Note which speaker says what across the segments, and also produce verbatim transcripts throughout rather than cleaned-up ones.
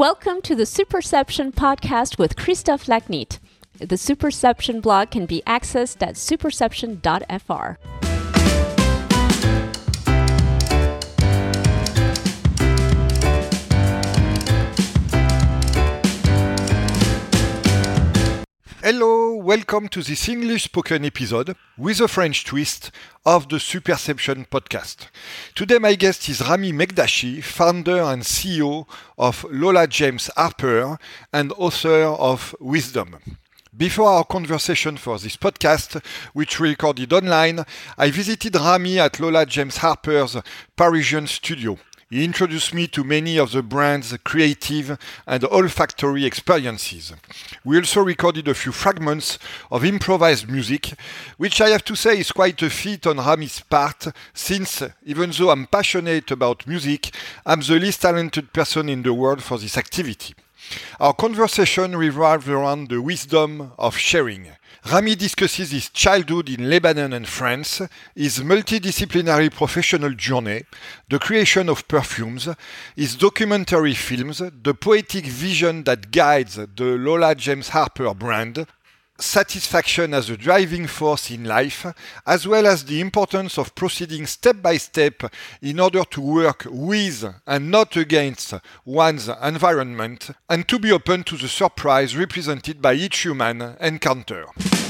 Speaker 1: Welcome to the Superception podcast with Christophe Lacnit. The Superception blog can be accessed at superception dot f r.
Speaker 2: Hello, welcome to this English spoken episode with a French twist of the Superception podcast. Today my guest is Rami Megdashi, founder and C E O of Lola James Harper and author of Wisdom. Before our conversation for this podcast, which we recorded online, I visited Rami at Lola James Harper's Parisian studio. He introduced me to many of the brand's creative and olfactory experiences. We also recorded a few fragments of improvised music, which I have to say is quite a feat on Rami's part, since, even though I'm passionate about music, I'm the least talented person in the world for this activity. Our conversation revolved around the wisdom of sharing. Rami discusses his childhood in Lebanon and France, his multidisciplinary professional journey, the creation of perfumes, his documentary films, the poetic vision that guides the Lola James Harper brand, satisfaction as a driving force in life, as well as the importance of proceeding step by step in order to work with and not against one's environment, and to be open to the surprise represented by each human encounter.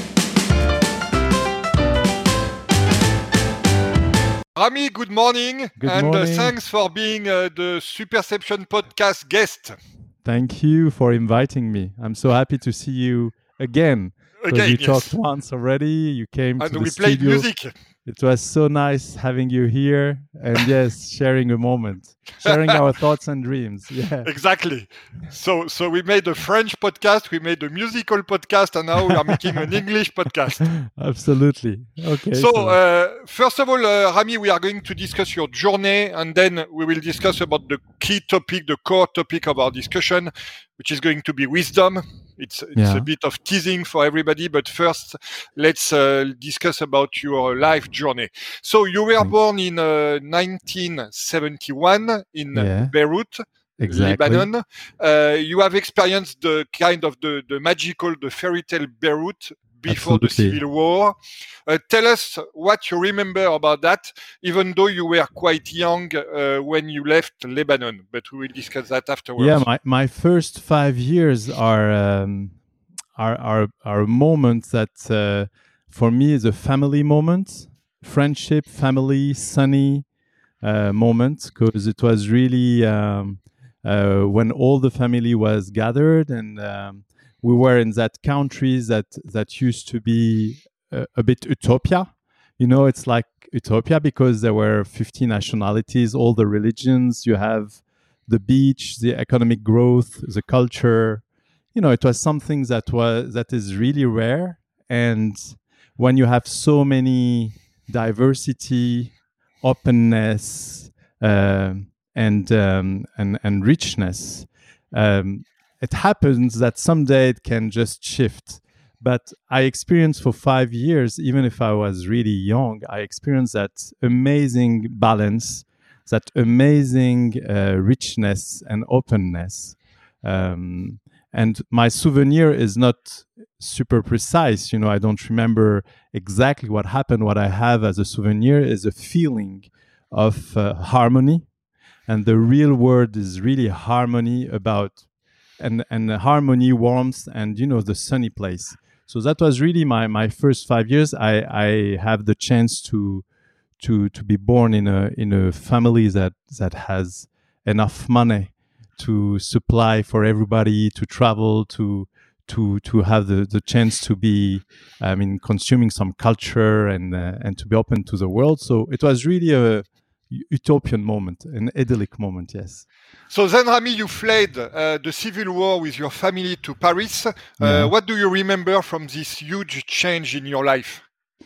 Speaker 2: Rami, good morning,
Speaker 3: good
Speaker 2: and
Speaker 3: morning.
Speaker 2: Uh, thanks for being uh, the Superception podcast guest.
Speaker 3: Thank you for inviting me. I'm so happy to see you again.
Speaker 2: Again,
Speaker 3: you
Speaker 2: yes.
Speaker 3: talked once already. You came
Speaker 2: and
Speaker 3: to
Speaker 2: we
Speaker 3: the
Speaker 2: played
Speaker 3: studio.
Speaker 2: music.
Speaker 3: It was so nice having you here, and yes, sharing a moment, sharing our thoughts and dreams. Yeah,
Speaker 2: exactly. So, so we made a French podcast, we made a musical podcast, and now we are making an English podcast.
Speaker 3: Absolutely. Okay.
Speaker 2: So, so. Uh, first of all, uh, Rami, we are going to discuss your journey, and then we will discuss about the key topic, the core topic of our discussion, which is going to be wisdom. It's, it's
Speaker 3: yeah.
Speaker 2: a bit of teasing for everybody, but first, let's uh, discuss about your life journey. So you were
Speaker 3: Thanks.
Speaker 2: born in uh, nineteen seventy-one in
Speaker 3: yeah.
Speaker 2: Beirut,
Speaker 3: exactly.
Speaker 2: Lebanon. Uh, you have experienced the kind of the, the magical, the fairy tale Beirut before
Speaker 3: Absolutely.
Speaker 2: the Civil War. Uh, tell us what you remember about that, even though you were quite young uh, when you left Lebanon, but we will discuss that afterwards.
Speaker 3: Yeah, my, my first five years are um, are, are, are a moment that uh, for me is a family moment, friendship, family, sunny uh, moment, because it was really um, uh, when all the family was gathered, and um, we were in that country that, that used to be a, a bit utopia. You know, it's like utopia because there were fifty nationalities, all the religions, you have the beach, the economic growth, the culture. You know, it was something that was that is really rare. And when you have so many diversity, openness, uh, and, um, and and richness, um, it happens that someday it can just shift. But I experienced for five years, even if I was really young, I experienced that amazing balance, that amazing uh, richness and openness. Um, and my souvenir is not super precise. You know, I don't remember exactly what happened. What I have as a souvenir is a feeling of uh, harmony. And the real word is really harmony about and, and harmony, warmth, and, you know, the sunny place. So that was really my, my first five years. I, I have the chance to to to be born in a in a family that that has enough money to supply for everybody, to travel, to to to have the, the chance to be, I mean, consuming some culture and uh, and to be open to the world. So it was really a utopian moment, an idyllic moment, yes.
Speaker 2: So then, Rami, you fled uh, the Civil War with your family to Paris. Uh,
Speaker 3: yeah.
Speaker 2: What do you remember from this huge change in your life?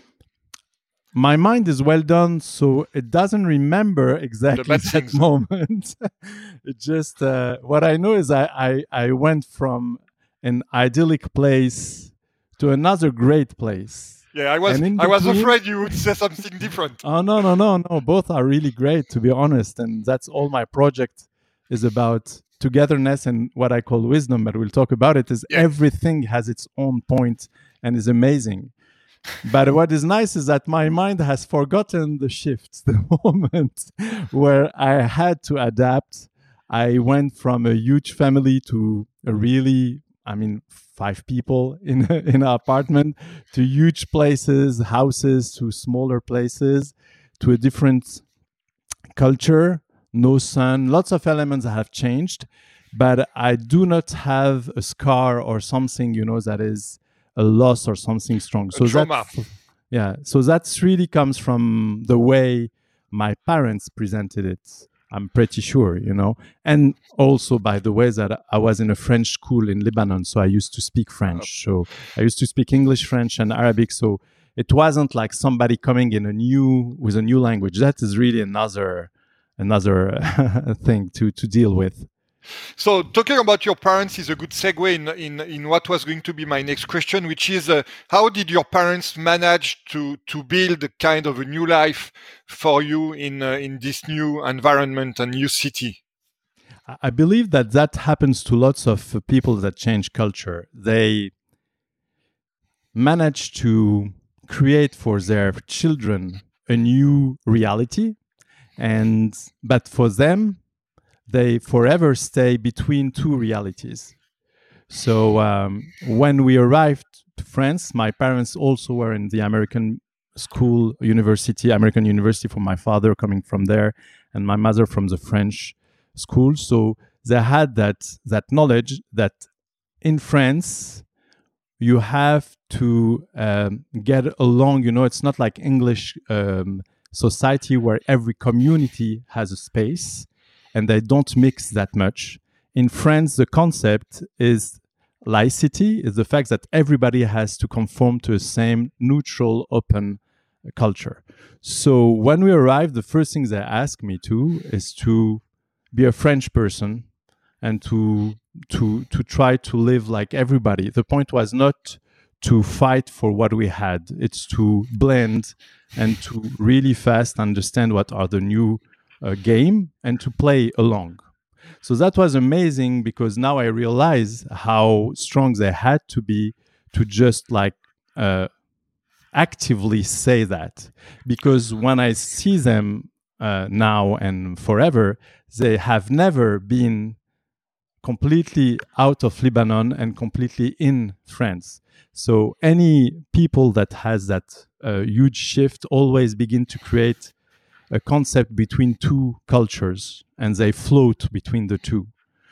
Speaker 3: My mind is well done, so it doesn't remember exactly that
Speaker 2: things.
Speaker 3: moment. It just, uh, what I know is I, I, I went from an idyllic place to another great place.
Speaker 2: Yeah, I was I was afraid you would say something different.
Speaker 3: Oh, no, no, no, no. Both are really great, to be honest. And that's all my project is about, togetherness and what I call wisdom, but we'll talk about it, is
Speaker 2: Yeah.
Speaker 3: everything has its own point and is amazing. But what is nice is that my mind has forgotten the shifts, the moment where I had to adapt. I went from a huge family to a really, I mean, five people in, a, in an apartment, to huge places, houses, to smaller places, to a different culture, no sun, lots of elements have changed. But I do not have a scar or something, you know, that is a loss or something strong. So
Speaker 2: trauma.
Speaker 3: that, yeah, so that's really comes from the way my parents presented it. I'm pretty sure, you know, and also by the way that I was in a French school in Lebanon, so I used to speak French. So I used to speak English, French, and Arabic. So it wasn't like somebody coming in a new with a new language. That is really another another thing to to deal with.
Speaker 2: So talking about your parents is a good segue in, in, in what was going to be my next question, which is uh, how did your parents manage to, to build a kind of a new life for you in, uh, in this new environment and new city?
Speaker 3: I believe that that happens to lots of people that change culture. They manage to create for their children a new reality, and but for them, they forever stay between two realities. So um, when we arrived to France, my parents also were in the American school, university, American university for my father coming from there, and my mother from the French school. So they had that that knowledge that in France, you have to um, get along. You know, it's not like English um, society where every community has a space and they don't mix that much. In France, the concept is laicity, is the fact that everybody has to conform to a same neutral, open culture. So when we arrived, the first thing they asked me to is to be a French person and to to to try to live like everybody. The point was not to fight for what we had. It's to blend and to really fast understand what are the new uh, game and to play along. So that was amazing because now I realize how strong they had to be to just like uh, actively say that. Because when I see them uh, now and forever, they have never been completely out of Lebanon and completely in France. So any people that has that uh, huge shift always begin to create a concept between two cultures, and they float between the two.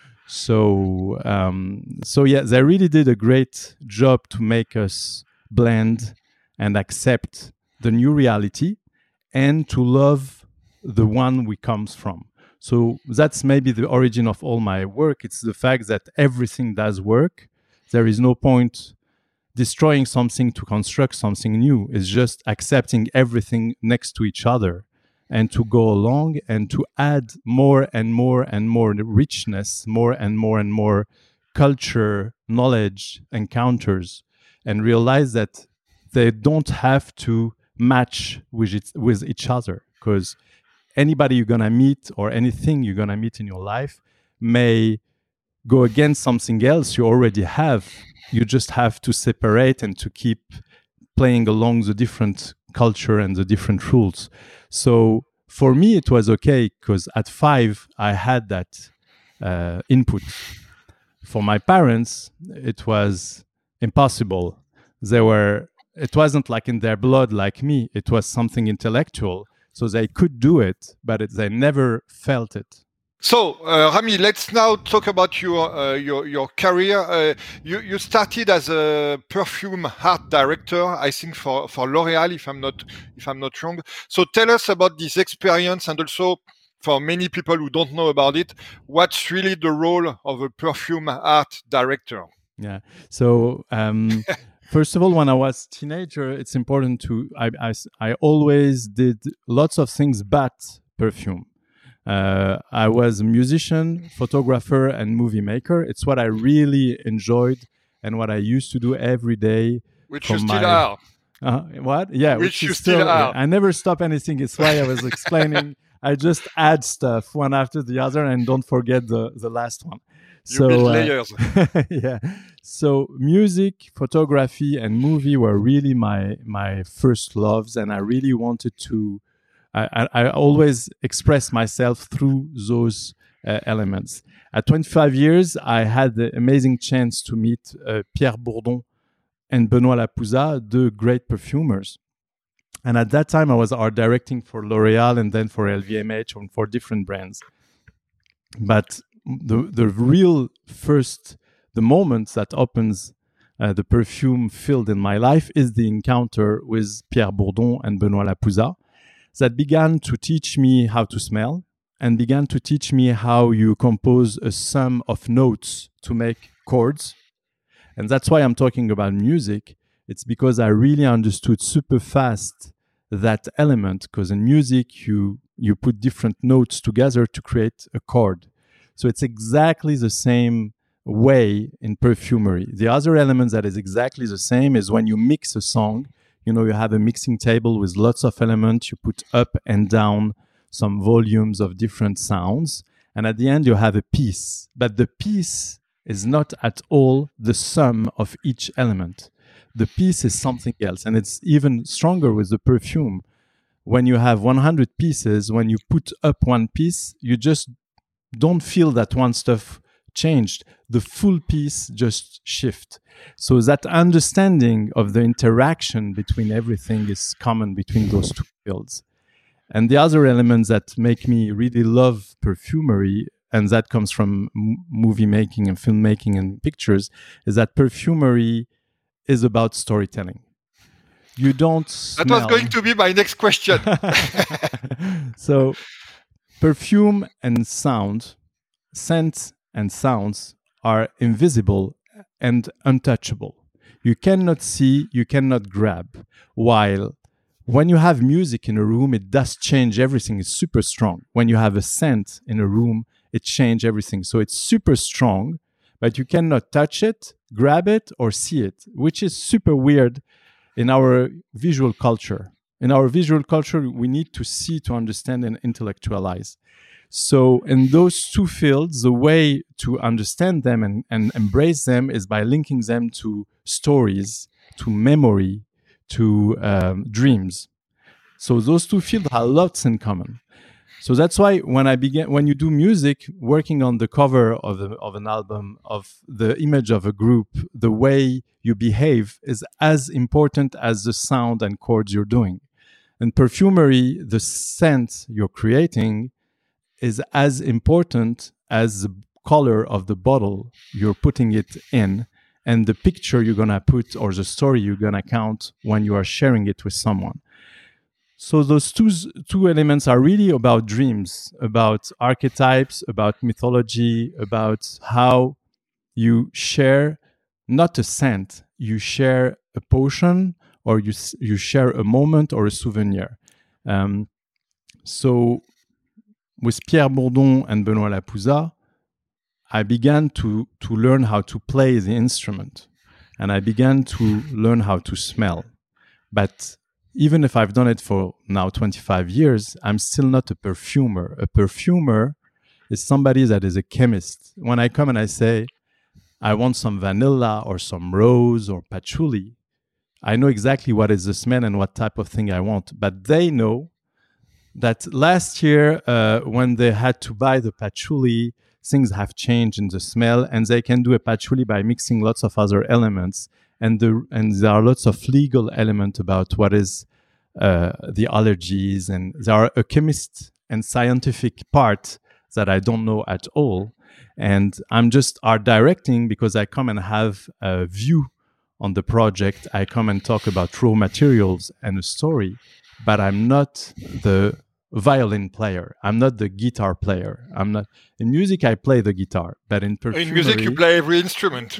Speaker 3: So, um, so yeah, they really did a great job to make us blend and accept the new reality, and to love the one we comes from. So that's maybe the origin of all my work. It's the fact that everything does work. There is no point destroying something to construct something new. It's just accepting everything next to each other and to go along and to add more and more and more richness, more and more and more culture, knowledge, encounters, and realize that they don't have to match with, it, with each other, because anybody you're going to meet or anything you're going to meet in your life may go against something else you already have. You just have to separate and to keep playing along the different culture and the different rules. So for me, it was okay because at five, I had that uh, input. For my parents, it was impossible. They were, it wasn't like in their blood like me. It was something intellectual. So they could do it, but it, they never felt it.
Speaker 2: So, uh, Rami, let's now talk about your uh, your your career. Uh, you you started as a perfume art director, I think for, for L'Oréal, if I'm not if I'm not wrong. So, tell us about this experience, and also for many people who don't know about it, what's really the role of a perfume art director?
Speaker 3: Yeah. So. Um, First of all, when I was a teenager, it's important to, I, I, I always did lots of things but perfume. Uh, I was a musician, photographer, and movie maker. It's what I really enjoyed and what I used to do every day.
Speaker 2: Which you still my, are.
Speaker 3: Uh, what? Yeah.
Speaker 2: Which, which you
Speaker 3: still,
Speaker 2: still are.
Speaker 3: Yeah, I never stop anything. It's why I was explaining I just add stuff one after the other and don't forget the, the last one.
Speaker 2: You
Speaker 3: so,
Speaker 2: build
Speaker 3: uh,
Speaker 2: layers.
Speaker 3: yeah. So music, photography, and movie were really my my first loves, and I really wanted to. I, I, I always express myself through those uh, elements. At twenty-five years, I had the amazing chance to meet uh, Pierre Bourdon and Benoît Lapouza, the great perfumers. And at that time, I was art directing for L'Oréal and then for L V M H and for different brands. But the the real first, the moment that opens uh, the perfume field in my life is the encounter with Pierre Bourdon and Benoît Lapouza that began to teach me how to smell and began to teach me how you compose a sum of notes to make chords. And that's why I'm talking about music. It's because I really understood super fast that element, because in music, you you put different notes together to create a chord. So it's exactly the same way in perfumery. The other element that is exactly the same is when you mix a song, you know, you have a mixing table with lots of elements, you put up and down some volumes of different sounds, and at the end you have a piece. But the piece is not at all the sum of each element. The piece is something else, and it's even stronger with the perfume. When you have one hundred pieces, when you put up one piece, you just don't feel that one stuff changed. The full piece just shift. So that understanding of the interaction between everything is common between those two fields. And the other elements that make me really love perfumery, and that comes from m- movie making and filmmaking and pictures, is that perfumery is about storytelling. You don't smell.
Speaker 2: That was going to be my next question.
Speaker 3: So perfume and sound, scent and sounds are invisible and untouchable. You cannot see, you cannot grab. While when you have music in a room, it does change everything. It's super strong. When you have a scent in a room, it changes everything. So it's super strong, but you cannot touch it, grab it, or see it, which is super weird in our visual culture. In our visual culture, we need to see to understand and intellectualize. So in those two fields, the way to understand them and, and embrace them is by linking them to stories, to memory, to um, dreams. So those two fields have lots in common. So that's why when I began, when you do music, working on the cover of, a, of an album, of the image of a group, the way you behave is as important as the sound and chords you're doing. In perfumery, the scent you're creating is as important as the color of the bottle you're putting it in and the picture you're going to put or the story you're going to count when you are sharing it with someone. So those two, two elements are really about dreams, about archetypes, about mythology, about how you share not a scent, you share a potion or you, you share a moment or a souvenir. Um, so with Pierre Bourdon and Benoît Lapouza, I began to, to learn how to play the instrument, and I began to learn how to smell. But even if I've done it for now twenty-five years, I'm still not a perfumer. A perfumer is somebody that is a chemist. When I come and I say, I want some vanilla or some rose or patchouli, I know exactly what is the smell and what type of thing I want. But they know that last year, uh, when they had to buy the patchouli, things have changed in the smell, and they can do a patchouli by mixing lots of other elements. And, the, and there are lots of legal elements about what is uh, the allergies, and there are a chemist and scientific part that I don't know at all. And I'm just art directing because I come and have a view on the project. I come and talk about raw materials and a story, but I'm not the violin player. I'm not the guitar player. I'm not in music. I play the guitar, but in perfumery,
Speaker 2: in music you play every instrument.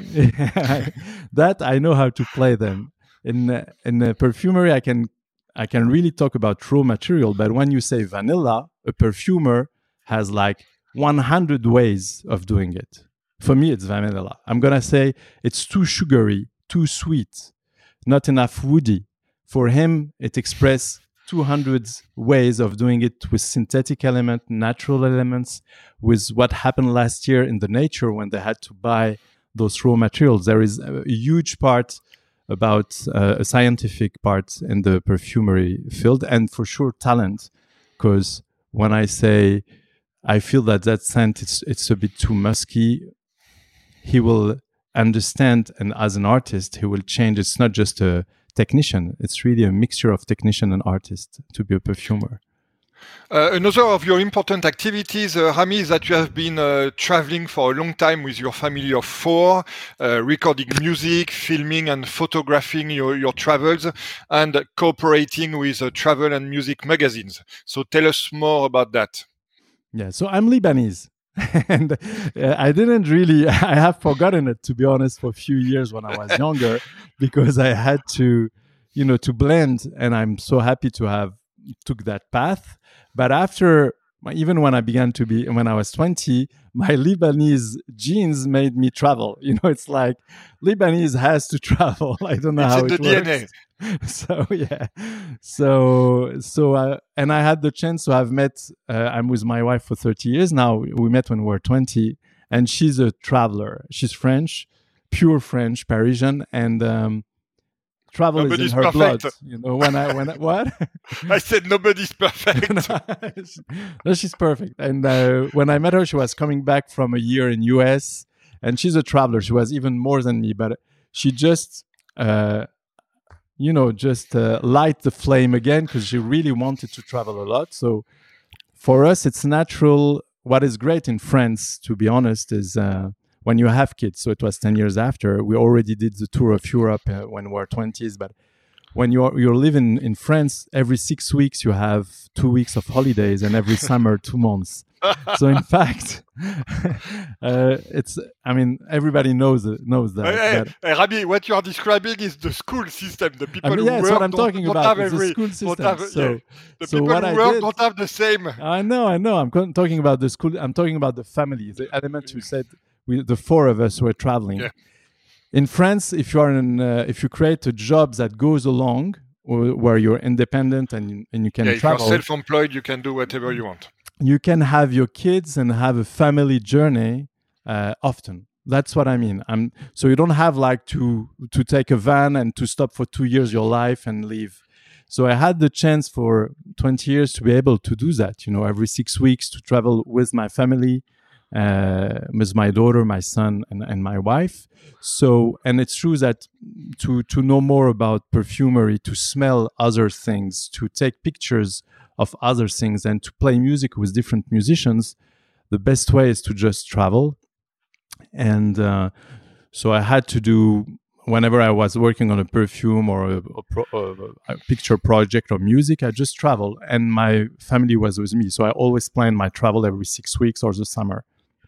Speaker 3: That I know how to play them. In uh, in uh, perfumery, I can I can really talk about raw material. But when you say vanilla, a perfumer has like one hundred ways of doing it. For me, it's vanilla. I'm gonna say it's too sugary, too sweet, not enough woody. For him, it expresses two hundred ways of doing it with synthetic element, natural elements, with what happened last year in the nature when they had to buy those raw materials. There is a huge part about uh, a scientific part in the perfumery field, and for sure talent, because when I say I feel that that scent it's it's a bit too musky, he will understand, and as an artist he will change. It's not just a technician, it's really a mixture of technician and artist to be a perfumer.
Speaker 2: Uh, another of your important activities, uh, Rami, is that you have been uh, traveling for a long time with your family of four, uh, recording music, filming and photographing your, your travels, and cooperating with uh, travel and music magazines. So tell us more about that.
Speaker 3: Yeah, so I'm Lebanese. and uh, I didn't really, I have forgotten it, to be honest, for a few years when I was younger, because I had to, you know, to blend. And I'm so happy to have took that path. But after, even when I began to be, when I was twenty, my Lebanese genes made me travel. You know, it's like Lebanese has to travel. I don't know
Speaker 2: it's
Speaker 3: how
Speaker 2: in
Speaker 3: it
Speaker 2: the
Speaker 3: works.
Speaker 2: D N A.
Speaker 3: So yeah, so so uh, and I had the chance to have met. Uh, I'm with my wife for thirty years now. We met when we were twenty, and she's a traveler. She's French, pure French, Parisian, and um, travel
Speaker 2: Nobody's
Speaker 3: is in her
Speaker 2: perfect.
Speaker 3: blood. You know, when I when I, what?
Speaker 2: I said nobody's perfect.
Speaker 3: No, she's perfect. And uh, when I met her, she was coming back from a year in U S, and she's a traveler. She was even more than me, but she just. Uh, you know, just uh, light the flame again, because she really wanted to travel a lot. So for us, it's natural. What is great in France, to be honest, is uh, when you have kids. So it was ten years after. We already did the tour of Europe uh, when we were twenties. But when you're, you're living in France, every six weeks you have two weeks of holidays, and every summer, two months. So in fact, uh, it's, I mean, everybody knows knows that.
Speaker 2: Hey,
Speaker 3: but,
Speaker 2: hey, Rami, what you are describing is the school system. The people
Speaker 3: I mean,
Speaker 2: who
Speaker 3: yeah, that's
Speaker 2: work
Speaker 3: what I'm
Speaker 2: don't,
Speaker 3: talking
Speaker 2: don't
Speaker 3: about.
Speaker 2: have
Speaker 3: It's
Speaker 2: every,
Speaker 3: the school system.
Speaker 2: have,
Speaker 3: so,
Speaker 2: yeah. The
Speaker 3: so
Speaker 2: people
Speaker 3: what
Speaker 2: who
Speaker 3: I
Speaker 2: work
Speaker 3: did,
Speaker 2: don't have the same.
Speaker 3: I know, I know. I'm co- talking about the school. I'm talking about the family, the element you said. We, the four of us were traveling.
Speaker 2: Yeah.
Speaker 3: In France, if you are in, uh, if you create a job that goes along, or, where you're independent and and you can
Speaker 2: Yeah,
Speaker 3: travel.
Speaker 2: if you're self-employed, you can do whatever you want.
Speaker 3: You can have your kids and have a family journey uh, often. That's what I mean. I'm, so you don't have like to to take a van and to stop for two years your life and leave. So I had the chance for twenty years to be able to do that, you know, every six weeks to travel with my family, uh, with my daughter, my son, and, and my wife. So, and it's true that to to know more about perfumery, to smell other things, to take pictures of other things, and to play music with different musicians, the best way is to just travel. And uh, so I had to do, whenever I was working on a perfume or a, a, pro, a picture project or music, I just travel, and my family was with me. So I always planned my travel every six weeks or the summer.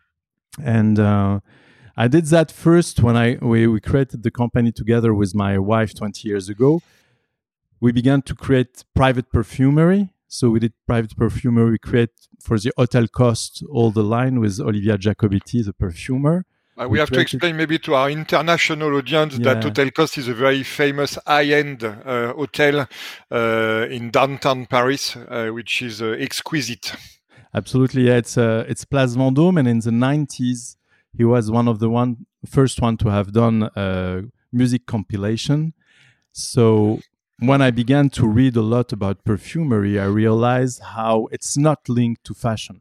Speaker 3: And uh, I did that first when I we, we created the company together with my wife twenty years ago. We began to create private perfumery. So we did private perfumery. We create for the Hotel Coste all the line with Olivia Jacobiti, the perfumer.
Speaker 2: Uh, we,
Speaker 3: we
Speaker 2: have
Speaker 3: created...
Speaker 2: to explain maybe to our international audience
Speaker 3: yeah.
Speaker 2: that Hotel Coste is a very famous high-end uh, hotel uh, in downtown Paris, uh, which is uh, exquisite.
Speaker 3: Absolutely, yeah. It's uh, it's Place Vendôme, and in the nineties, he was one of the one first one to have done a music compilation. So when I began to read a lot about perfumery, I realized how it's not linked to fashion.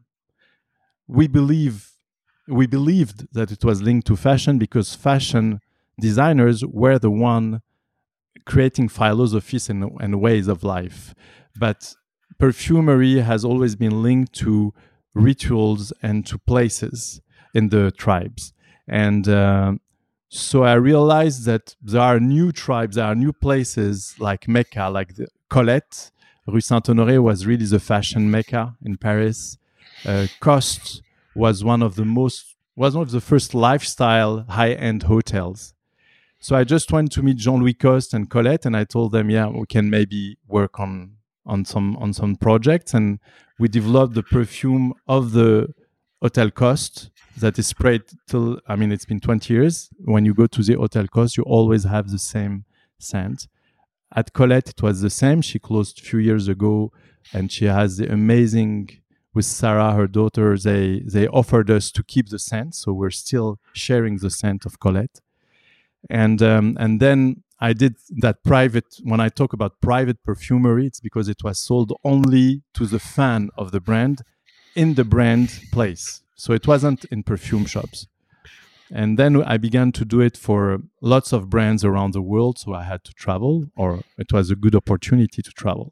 Speaker 3: We believe, we believed that it was linked to fashion because fashion designers were the one creating philosophies and, and ways of life. But perfumery has always been linked to rituals and to places in the tribes. And uh, So I realized that there are new tribes, there are new places like Mecca, like the Colette. Rue Saint-Honoré was really the fashion Mecca in Paris. Uh, Coste was one of the most, was one of the first lifestyle high-end hotels. So I just went to meet Jean-Louis Coste and Colette, and I told them, yeah, we can maybe work on on some on some projects, and we developed the perfume of the Hotel Coste that is sprayed till, I mean, it's been twenty years. When you go to the Hotel Coste, you always have the same scent. at Colette, it was the same. She closed a few years ago, and she has the amazing, with Sarah, her daughter, they, they offered us to keep the scent. So we're still sharing the scent of Colette. And um, and then I did that private, when I talk about private perfumery, it's because it was sold only to the fan of the brand in the brand place. So it wasn't in perfume shops. And then I began to do it for lots of brands around the world. So I had to travel, or it was a good opportunity to travel.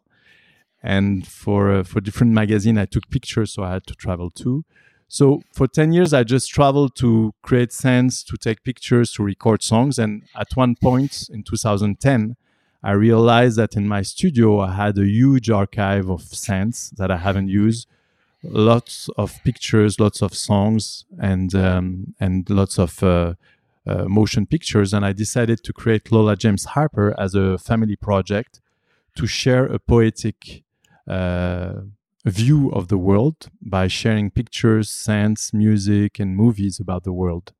Speaker 3: And for uh, for different magazines, I took pictures, so I had to travel too. So for ten years, I just traveled to create scents, to take pictures, to record songs. And at one point in two thousand ten, I realized that in my studio, I had a huge archive of scents that I haven't used. Lots of pictures, lots of songs, and um, and lots of uh, uh, motion pictures. And I decided to create Lola James Harper as a family project to share a poetic uh, view of the world by sharing pictures, scents, music, and movies about the world.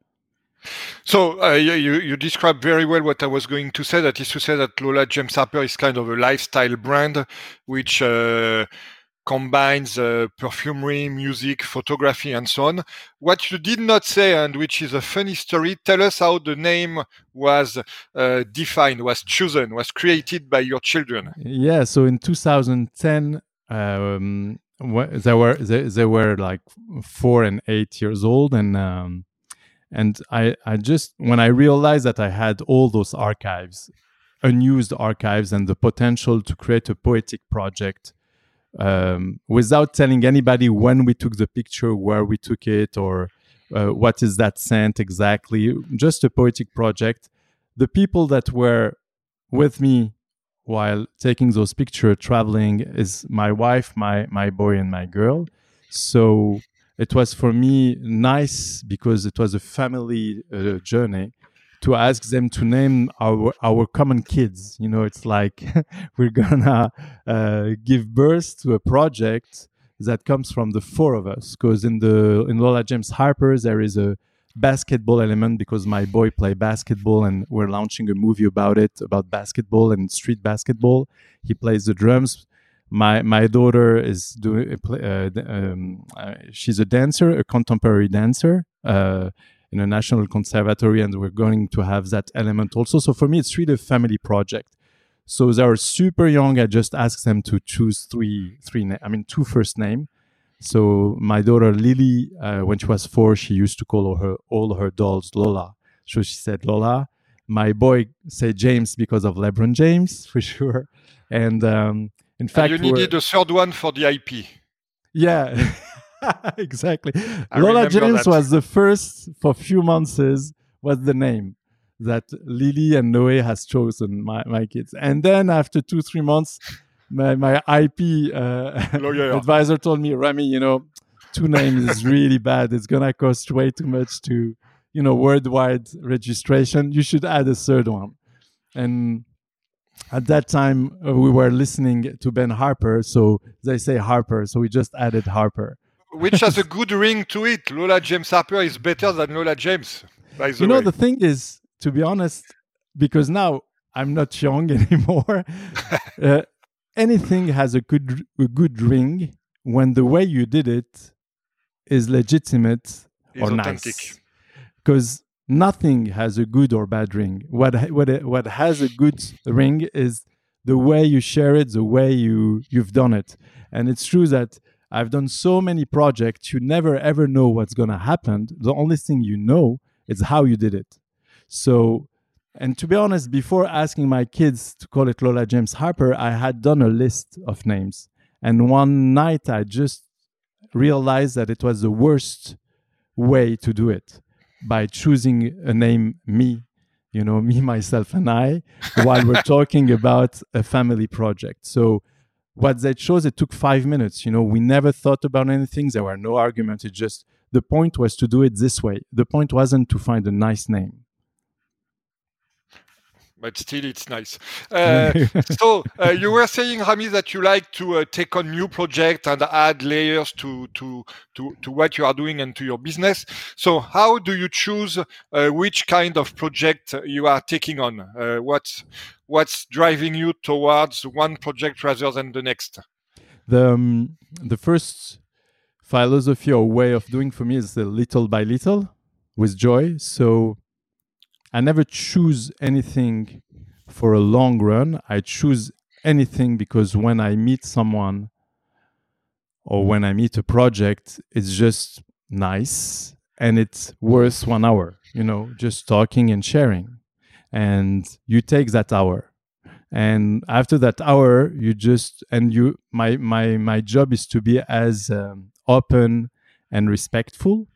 Speaker 2: So uh, you, you described very well what I was going to say. That is to say that Lola James Harper is kind of a lifestyle brand, which uh, combines uh, perfumery, music, photography, and so on. What you did not say, and which is a funny story, tell us how the name was uh, defined, was chosen, was created by your children.
Speaker 3: Yeah, so in two thousand ten, um, wh- they were they, they were like four and eight years old, and um, and I I just when I realized that I had all those archives, unused archives, and the potential to create a poetic project. Um, without telling anybody when we took the picture, where we took it, or uh, what is that scent exactly, just a poetic project. The people that were with me while taking those pictures, traveling, is my wife, my, my boy, and my girl. So it was for me nice because it was a family uh, journey to ask them to name our our common kids. You know, it's like we're gonna uh, give birth to a project that comes from the four of us. Because in the in Lola James Harper there is a basketball element because my boy play basketball, and we're launching a movie about it, about basketball and street basketball. He plays the drums. My my daughter is doing. Uh, um, uh, she's a dancer, a contemporary dancer. Uh, in a national conservatory, and we're going to have that element also. So for me, it's really a family project. So they are super young. I just asked them to choose three, three. Na- I mean, two first name. So my daughter Lily, uh, when she was four, she used to call all her all her dolls Lola. So she said Lola. My boy said James because of LeBron James for sure. And um, in fact,
Speaker 2: and you needed a third one for the I P.
Speaker 3: Yeah. Exactly.
Speaker 2: I
Speaker 3: Lola James
Speaker 2: that.
Speaker 3: was the first for a few months was the name that Lily and Noé has chosen, my, my kids. And then after two, three months, my, my I P uh, advisor told me, Rami, you know, two names is really bad. It's going to cost way too much to, you know, worldwide registration. You should add a third one. And at that time, uh, we were listening to Ben Harper. So they say Harper. So we just added Harper.
Speaker 2: Which has a good ring to it. Lola James Harper is better than Lola James, by the
Speaker 3: You know,
Speaker 2: way.
Speaker 3: the thing is, to be honest, because now I'm not young anymore, uh, anything has a good a good ring when the way you did it is legitimate or
Speaker 2: authentic.
Speaker 3: Nice. Because nothing has a good or bad ring. What what what has a good ring is the way you share it, the way you you've done it. And it's true that I've done so many projects, you never ever know what's going to happen. The only thing you know is how you did it. So, and to be honest, before asking my kids to call it Lola James Harper, I had done a list of names. And one night I just realized that it was the worst way to do it by choosing a name, me, you know, me, myself, and I, while we're talking about a family project. So, what they chose, it took five minutes. You know, we never thought about anything. There were no arguments. It just, the point was to do it this way. The point wasn't to find a nice name.
Speaker 2: but still it's nice. Uh, so uh, you were saying, Rami, that you like to uh, take on new projects and add layers to, to to to what you are doing and to your business. So how do you choose uh, which kind of project you are taking on? Uh, what's what's driving you towards one project rather than the next?
Speaker 3: The um, the first philosophy or way of doing for me is the little by little with joy. So I never choose anything for a long run. I choose anything because when I meet someone or when I meet a project, it's just nice and it's worth one hour, you know, just talking and sharing. And you take that hour. And after that hour, you just, and you, my, my, my job is to be as um, open and respectful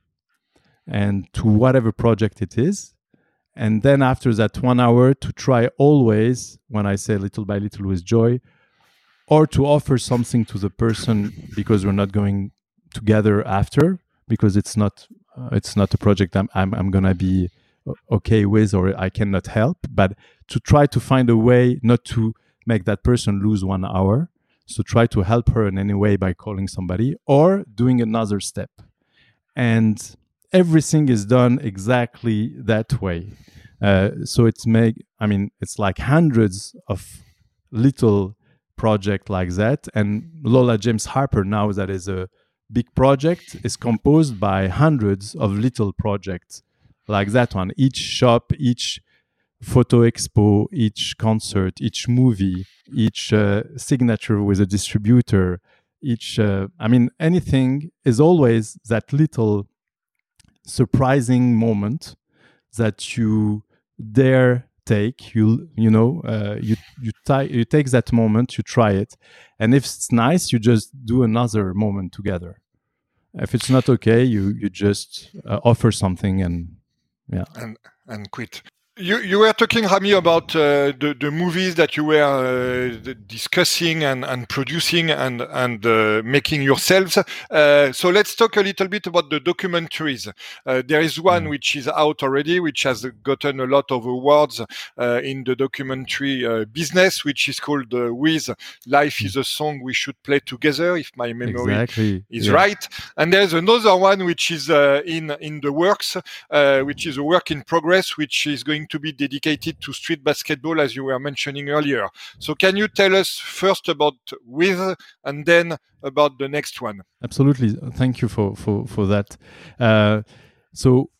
Speaker 3: and to whatever project it is. And then after that one hour to try always, when I say little by little with joy, or to offer something to the person because we're not going together after, because it's not uh, it's not a project I'm I'm, I'm gonna be okay with or I cannot help, but to try to find a way not to make that person lose one hour. So try to help her in any way by calling somebody or doing another step. And everything is done exactly that way. Uh, so it's make I mean it's like hundreds of little projects like that. And Lola James Harper now that is a big project is composed by hundreds of little projects like that one. Each shop, each photo expo, each concert, each movie, each uh, signature with a distributor, each uh, I mean anything is always that little surprising moment that you dare take. You you know uh, you you, t- you take that moment, you try it, and if it's nice, you just do another moment together. If it's not okay, you you just uh, offer something and yeah
Speaker 2: and and quit. You you were talking, Rami, about uh, the the movies that you were uh, discussing and, and producing and and uh, making yourselves. Uh, so let's talk a little bit about the documentaries. Uh, there is one mm. which is out already, which has gotten a lot of awards uh, in the documentary uh, business, which is called uh, Wiz Life is a Song We Should Play Together, if my memory
Speaker 3: exactly.
Speaker 2: is
Speaker 3: yeah.
Speaker 2: right. And there's another one which is uh, in in the works, uh, which is a work in progress, which is going to be dedicated to street basketball, as you were mentioning earlier. So can you tell us first about Wiz and then about the next one?
Speaker 3: Absolutely. Thank you for, for, for that. Uh, so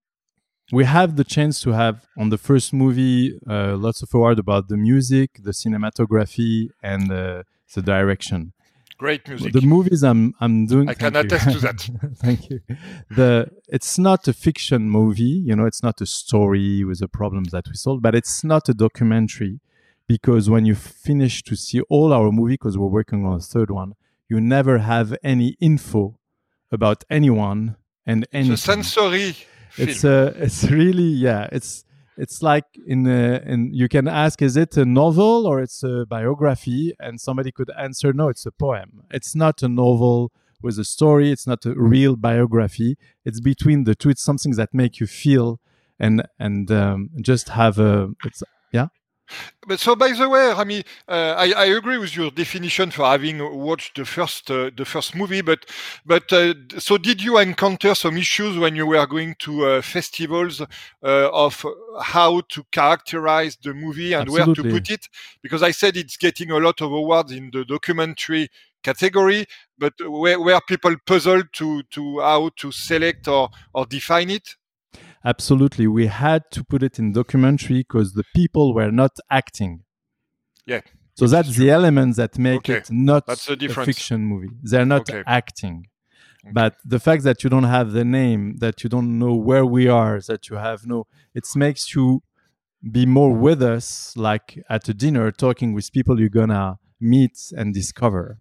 Speaker 3: we have the chance to have on the first movie uh, lots of awards about the music, the cinematography, and uh, the direction.
Speaker 2: Great music.
Speaker 3: The movies I'm I'm doing.
Speaker 2: I can attest to that.
Speaker 3: Thank you. The it's not a fiction movie, you know. It's not a story with the problems that we solve, but it's not a documentary because when you finish to see all our movie, because we're working on a third one, you never have any info about anyone and anything.
Speaker 2: It's a sensory.
Speaker 3: It's
Speaker 2: film.
Speaker 3: a. It's really yeah. It's. It's like in, a, in you can ask, is it a novel or it's a biography? And somebody could answer, no, it's a poem. It's not a novel with a story. It's not a real biography. It's between the two. It's something that make you feel and and um, just have a. It's yeah.
Speaker 2: But so, by the way, Rami, uh, I, I agree with your definition for having watched the first uh, the first movie. But but uh, so, did you encounter some issues when you were going to uh, festivals uh, of how to characterize the movie and
Speaker 3: Absolutely.
Speaker 2: where to put it? Because I said it's getting a lot of awards in the documentary category, but where where people puzzled to to how to select or or define it.
Speaker 3: Absolutely. We had to put it in documentary because the people were not acting.
Speaker 2: Yeah.
Speaker 3: So that's the element that make
Speaker 2: okay.
Speaker 3: it not
Speaker 2: that's the
Speaker 3: a fiction movie. They're not
Speaker 2: okay.
Speaker 3: acting.
Speaker 2: Okay.
Speaker 3: But the fact that you don't have the name, that you don't know where we are, that you have no... It makes you be more with us, like at a dinner, talking with people you're going to meet and discover.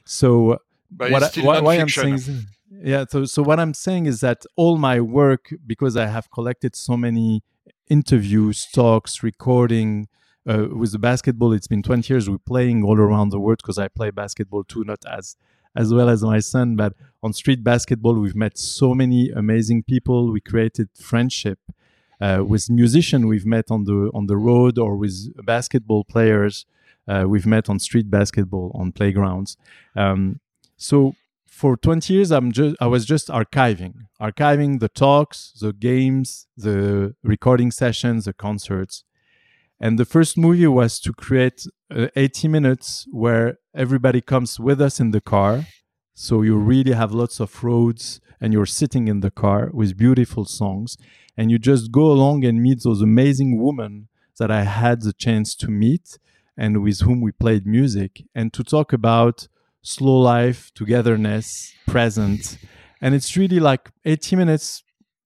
Speaker 3: So
Speaker 2: but
Speaker 3: what
Speaker 2: it's still
Speaker 3: I, why, why I'm
Speaker 2: non-fiction.
Speaker 3: saying... Yeah, so so what I'm saying is that all my work, because I have collected so many interviews, talks, recording uh, with the basketball, it's been twenty years we're playing all around the world because I play basketball too, not as as well as my son, but on street basketball, we've met so many amazing people. We created friendship. uh, with musicians we've met on the on the road, or with basketball players uh, we've met on street basketball on playgrounds. Um, so for twenty years, I'm just I was just archiving, archiving the talks, the games, the recording sessions, the concerts. And the first movie was to create uh, eighty minutes where everybody comes with us in the car. So you really have lots of roads and you're sitting in the car with beautiful songs. And you just go along and meet those amazing women that I had the chance to meet and with whom we played music, and to talk about slow life, togetherness, present. And it's really like eighty minutes,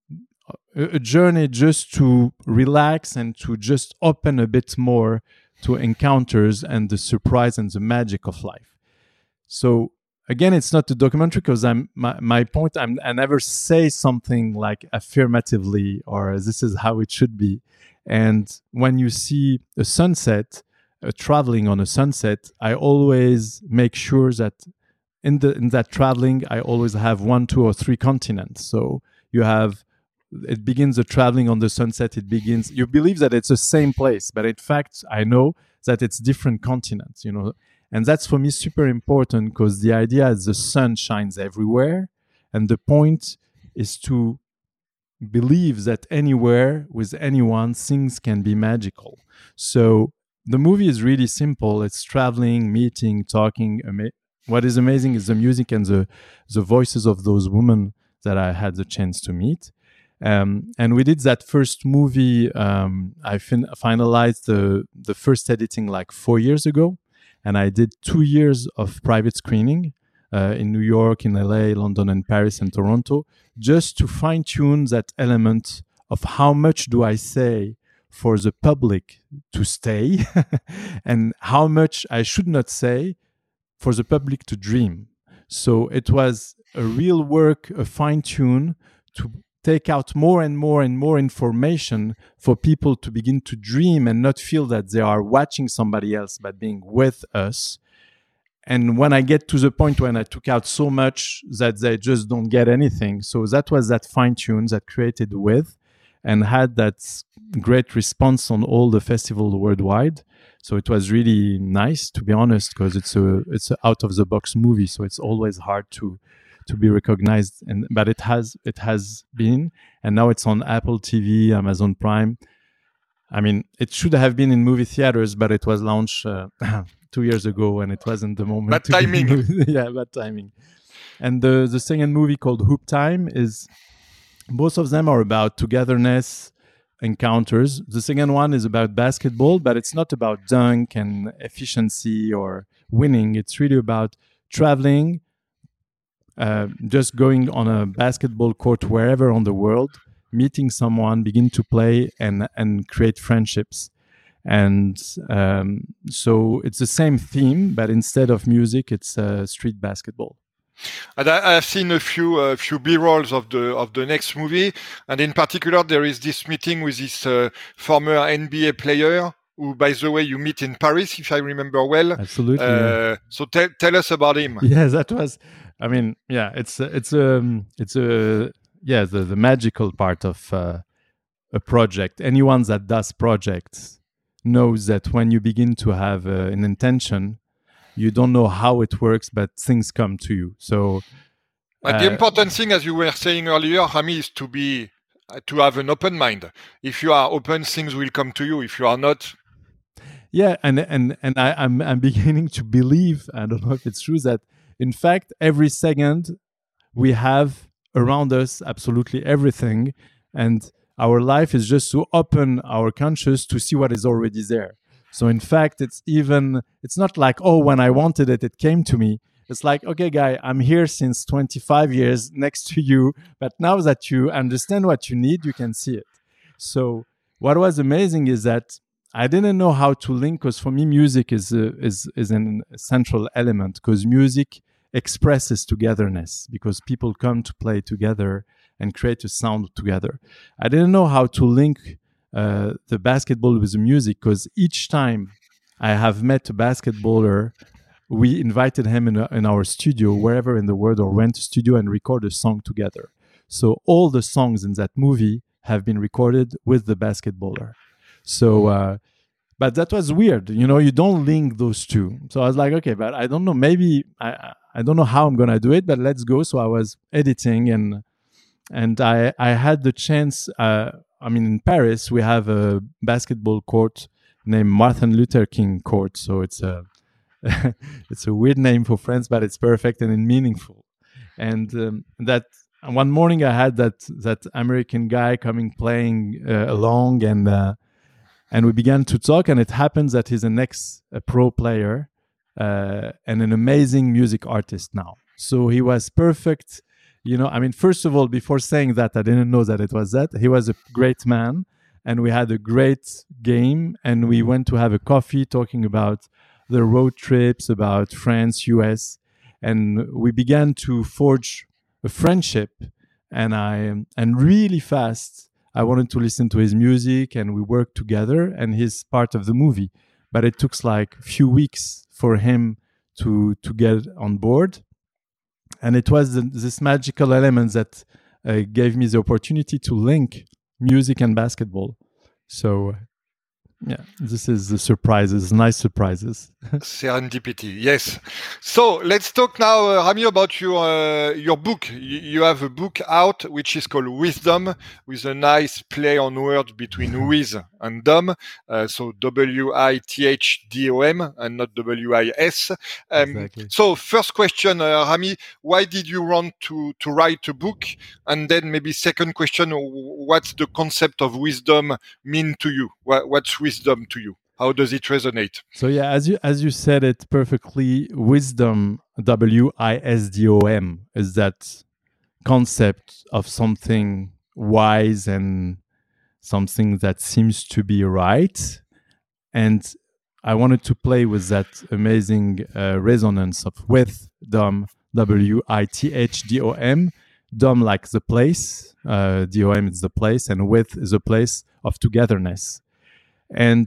Speaker 3: a journey just to relax and to just open a bit more to encounters and the surprise and the magic of life. So again, it's not a documentary because I'm my, my point. I'm, I never say something like affirmatively or this is how it should be. And when you see a sunset, uh, traveling on a sunset, I always make sure that in the in that traveling, I always have one, two, or three continents. So you have. It begins the traveling on the sunset. It begins, you believe that it's the same place, but in fact, I know that it's different continents, you know, and that's for me super important because the idea is the sun shines everywhere. And the point is to believe that anywhere with anyone, things can be magical. So the movie is really simple. It's traveling, meeting, talking. Ama- what is amazing is the music and the, the voices of those women that I had the chance to meet. Um, and we did that first movie. Um, I fin- finalized the, the first editing like four years ago. And I did two years of private screening uh, in New York, in L A, London, and Paris, and Toronto, just to fine tune that element of how much do I say for the public to stay and how much I should not say for the public to dream. So it was a real work, a fine tune to take out more and more and more information for people to begin to dream and not feel that they are watching somebody else, but being with us. And when I get to the point when I took out so much that they just don't get anything. So that was that fine tune that created with and had that great response on all the festivals worldwide. So it was really nice, to be honest, because it's a it's an out of the box movie. So it's always hard to to be recognized, and but it has it has been, and now it's on Apple T V, Amazon Prime. I mean, it should have been in movie theaters, but it was launched uh, two years ago, and it wasn't the moment.
Speaker 2: Bad timing.
Speaker 3: Yeah, bad timing. And the the second movie called Hoop Time is, both of them are about togetherness, encounters. The second one is about basketball, but it's not about dunk and efficiency or winning. It's really about traveling. Uh, just going on a basketball court wherever on the world, meeting someone, begin to play and and create friendships. And um, so it's the same theme, but instead of music, it's uh, street basketball.
Speaker 2: And I, I've seen a few uh, few B-rolls of the of the next movie, and in particular, there is this meeting with this uh, former N B A player who, by the way, you meet in Paris, if I remember well.
Speaker 3: Absolutely.
Speaker 2: Uh,
Speaker 3: yeah.
Speaker 2: So tell tell us about him.
Speaker 3: Yeah, that was. I mean, yeah, it's it's um it's a yeah the, the magical part of uh, a project. Anyone that does projects knows that when you begin to have uh, an intention, you don't know how it works, but things come to you. So,
Speaker 2: But
Speaker 3: uh,
Speaker 2: the important thing, as you were saying earlier, Rami, is to be uh, to have an open mind. If you are open, things will come to you. If you are not,
Speaker 3: yeah, and and and I, I'm I'm beginning to believe. I don't know if it's true that. In fact, every second we have around us absolutely everything. And our life is just to open our conscious to see what is already there. So in fact, it's even, it's not like, oh, when I wanted it, it came to me. It's like, okay, guy, I'm here since twenty-five years next to you. But now that you understand what you need, you can see it. So what was amazing is that I didn't know how to link, because for me, music is a, is is an central element, because music expresses togetherness, because people come to play together and create a sound together. I didn't know how to link uh, the basketball with the music, because each time I have met a basketballer, we invited him in, a, in our studio, wherever in the world, or went to studio and record a song together. So all the songs in that movie have been recorded with the basketballer. So, uh, but that was weird. You know, you don't link those two. So I was like, okay, but I don't know. Maybe I I don't know how I'm gonna do it, but let's go. So I was editing and and I I had the chance. Uh, I mean, in Paris we have a basketball court named Martin Luther King Court. So it's a it's a weird name for France, but it's perfect and meaningful. And um, that one morning I had that that American guy coming playing uh, along, and uh, and we began to talk. And it happens that he's an ex a pro player uh, and an amazing music artist now. So he was perfect. You know, I mean, first of all, before saying that, I didn't know that it was that. He was a great man, and we had a great game, and we went to have a coffee talking about the road trips, about France, U S, and we began to forge a friendship. And I and really fast, I wanted to listen to his music, and we worked together. And he's part of the movie, but it took like a few weeks for him to to get on board. And it was the, this magical element that uh, gave me the opportunity to link music and basketball. So. Yeah, this is the surprises, nice surprises.
Speaker 2: Serendipity, yes. So let's talk now, uh, Rami, about your uh, your book. You, you have a book out which is called Wisdom, with a nice play on words between Wiz and Dom. Uh, so W I T H D O M and not W I S. Um,
Speaker 3: Exactly.
Speaker 2: So first question, uh, Rami, why did you want to, to write a book? And then maybe second question, what's the concept of wisdom mean to you? What, what's wisdom to you? How does it resonate?
Speaker 3: So yeah, as you as you said it perfectly, wisdom, W I S D O M, is that concept of something wise and something that seems to be right. And I wanted to play with that amazing uh, resonance of with Dom, W I T H D O M, Dom like the place, uh, D O M is the place, and with is a place of togetherness. And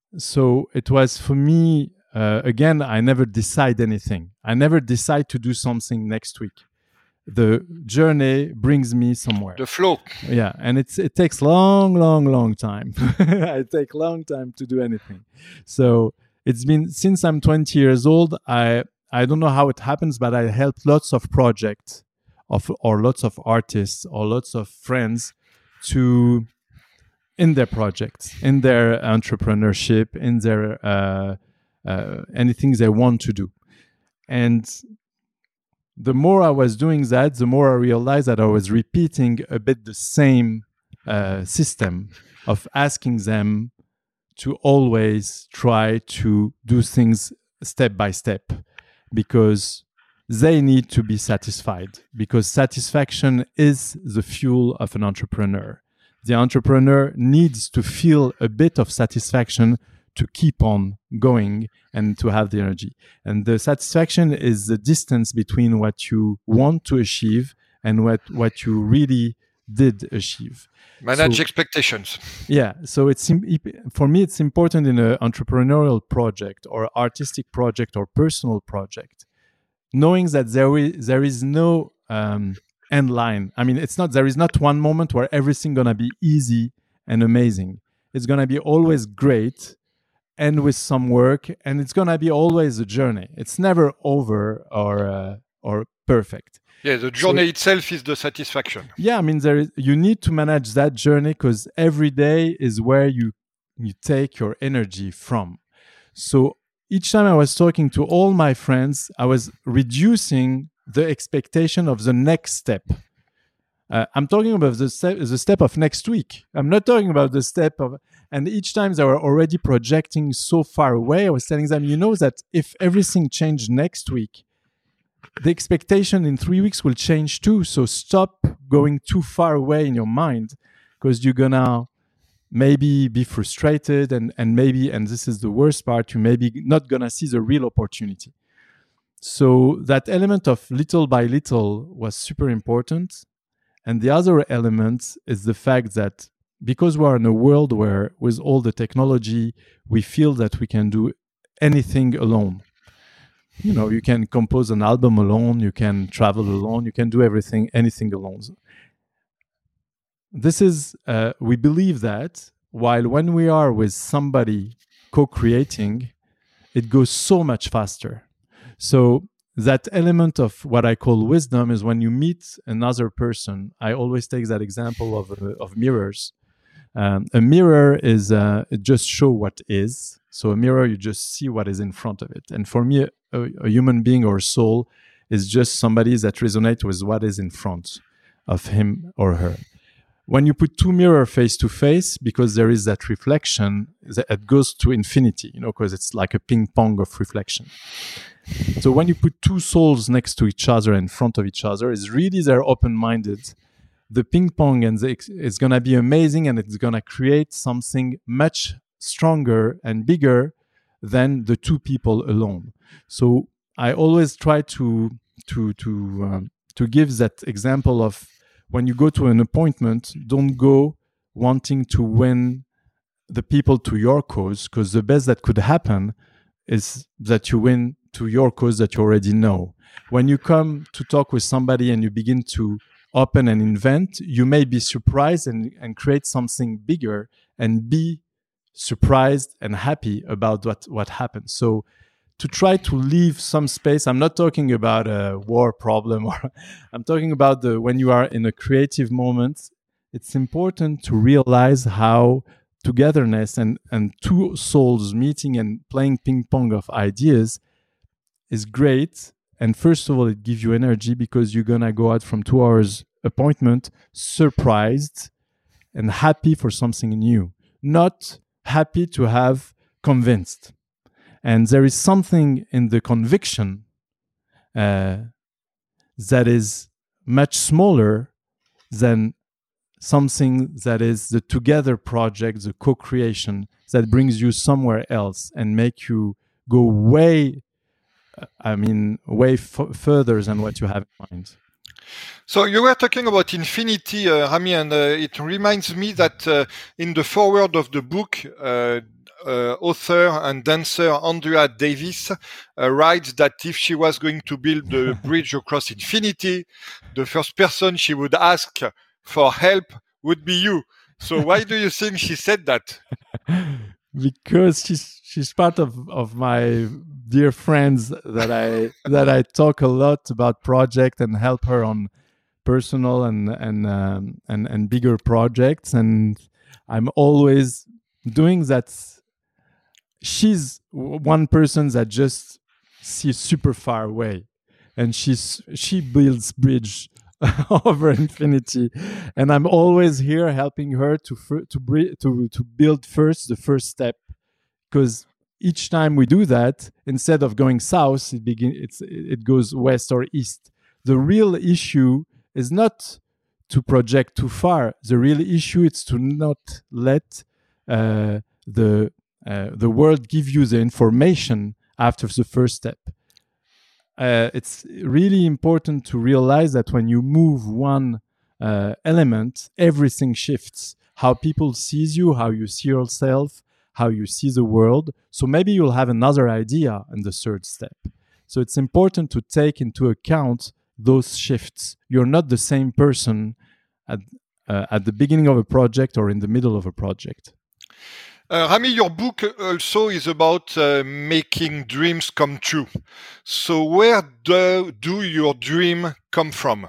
Speaker 3: so it was for me, uh, again, I never decide anything. I never decide to do something next week. The journey brings me somewhere.
Speaker 2: The flow.
Speaker 3: Yeah, and it's it takes long, long, long time. It takes long time to do anything. So it's been since I'm twenty years old. I I don't know how it happens, but I helped lots of projects of or lots of artists or lots of friends to in their projects, in their entrepreneurship, in their uh, uh, anything they want to do, and the more I was doing that, the more I realized that I was repeating a bit the same uh, system of asking them to always try to do things step by step, because they need to be satisfied, because satisfaction is the fuel of an entrepreneur. The entrepreneur needs to feel a bit of satisfaction to keep on going and to have the energy. And the satisfaction is the distance between what you want to achieve and what, what you really did achieve.
Speaker 2: Manage
Speaker 3: So-
Speaker 2: expectations.
Speaker 3: Yeah, so it's im- for me, it's important in an entrepreneurial project or artistic project or personal project, knowing that there is, there is no um, end line. I mean, it's not there is not one moment where everything gonna be easy and amazing. It's gonna be always great, and with some work, and it's gonna be always a journey. It's never over or uh, or perfect.
Speaker 2: Yeah, the journey itself is the satisfaction.
Speaker 3: Yeah, I mean, there is, you need to manage that journey, because every day is where you you take your energy from. So each time I was talking to all my friends, I was reducing the expectation of the next step. Uh, I'm talking about the step, the step of next week. I'm not talking about the step of, and each time they were already projecting so far away, I was telling them, you know that if everything changed next week, the expectation in three weeks will change too. So stop going too far away in your mind, because you're gonna maybe be frustrated, and, and maybe, and this is the worst part, you maybe not gonna see the real opportunity. So that element of little by little was super important. And the other element is the fact that because we're in a world where with all the technology, we feel that we can do anything alone. You know, you can compose an album alone, you can travel alone, you can do everything, anything alone. this is, uh, we believe that while when we are with somebody co-creating, it goes so much faster. So that element of what I call wisdom is when you meet another person. I always take that example of, uh, of mirrors. Um, a mirror is uh, it just show what is. So a mirror, you just see what is in front of it. And for me, a, a human being or a soul is just somebody that resonates with what is in front of him or her. When you put two mirrors face to face, because there is that reflection, that goes to infinity, you know, because it's like a ping pong of reflection. So when you put two souls next to each other, in front of each other, is really they're open-minded. The ping pong and the, it's going to be amazing, and it's going to create something much stronger and bigger than the two people alone. So I always try to to to um, to give that example of when you go to an appointment, don't go wanting to win the people to your cause, because the best that could happen is that you win to your cause that you already know. When you come to talk with somebody and you begin to open and invent, you may be surprised and, and create something bigger and be surprised and happy about what, what happens. So to try to leave some space, I'm not talking about a war problem, or I'm talking about the when you are in a creative moment, it's important to realize how togetherness and, and two souls meeting and playing ping pong of ideas is great. And first of all, it gives you energy because you're going to go out from two hours appointment surprised and happy for something new, not happy to have convinced. And there is something in the conviction uh, that is much smaller than something that is the together project, the co-creation that brings you somewhere else and make you go way, I mean, way f- further than what you have in mind.
Speaker 2: So you were talking about infinity, uh, Rami, and uh, it reminds me that uh, in the foreword of the book, uh, uh, author and dancer Andrea Davis uh, writes that if she was going to build a bridge across infinity, the first person she would ask for help would be you. So why do you think she said that?
Speaker 3: Because she's she's part of, of my dear friends that I that I talk a lot about project and help her on personal and and um, and and bigger projects, and I'm always doing that. She's one person that just sees super far away, and she's she builds bridge over infinity, and I'm always here helping her to to to to build first the first step, because each time we do that, instead of going south, it begin it's it goes west or east. The real issue is not to project too far. The real issue is to not let uh, the uh, the world give you the information after the first step. Uh, it's really important to realize that when you move one uh, element, everything shifts. How people sees you, how you see yourself, how you see the world. So maybe you'll have another idea in the third step. So it's important to take into account those shifts. You're not the same person at, uh, at the beginning of a project or in the middle of a project.
Speaker 2: Uh, Rami, your book also is about uh, making dreams come true. So where do, do your dream come from?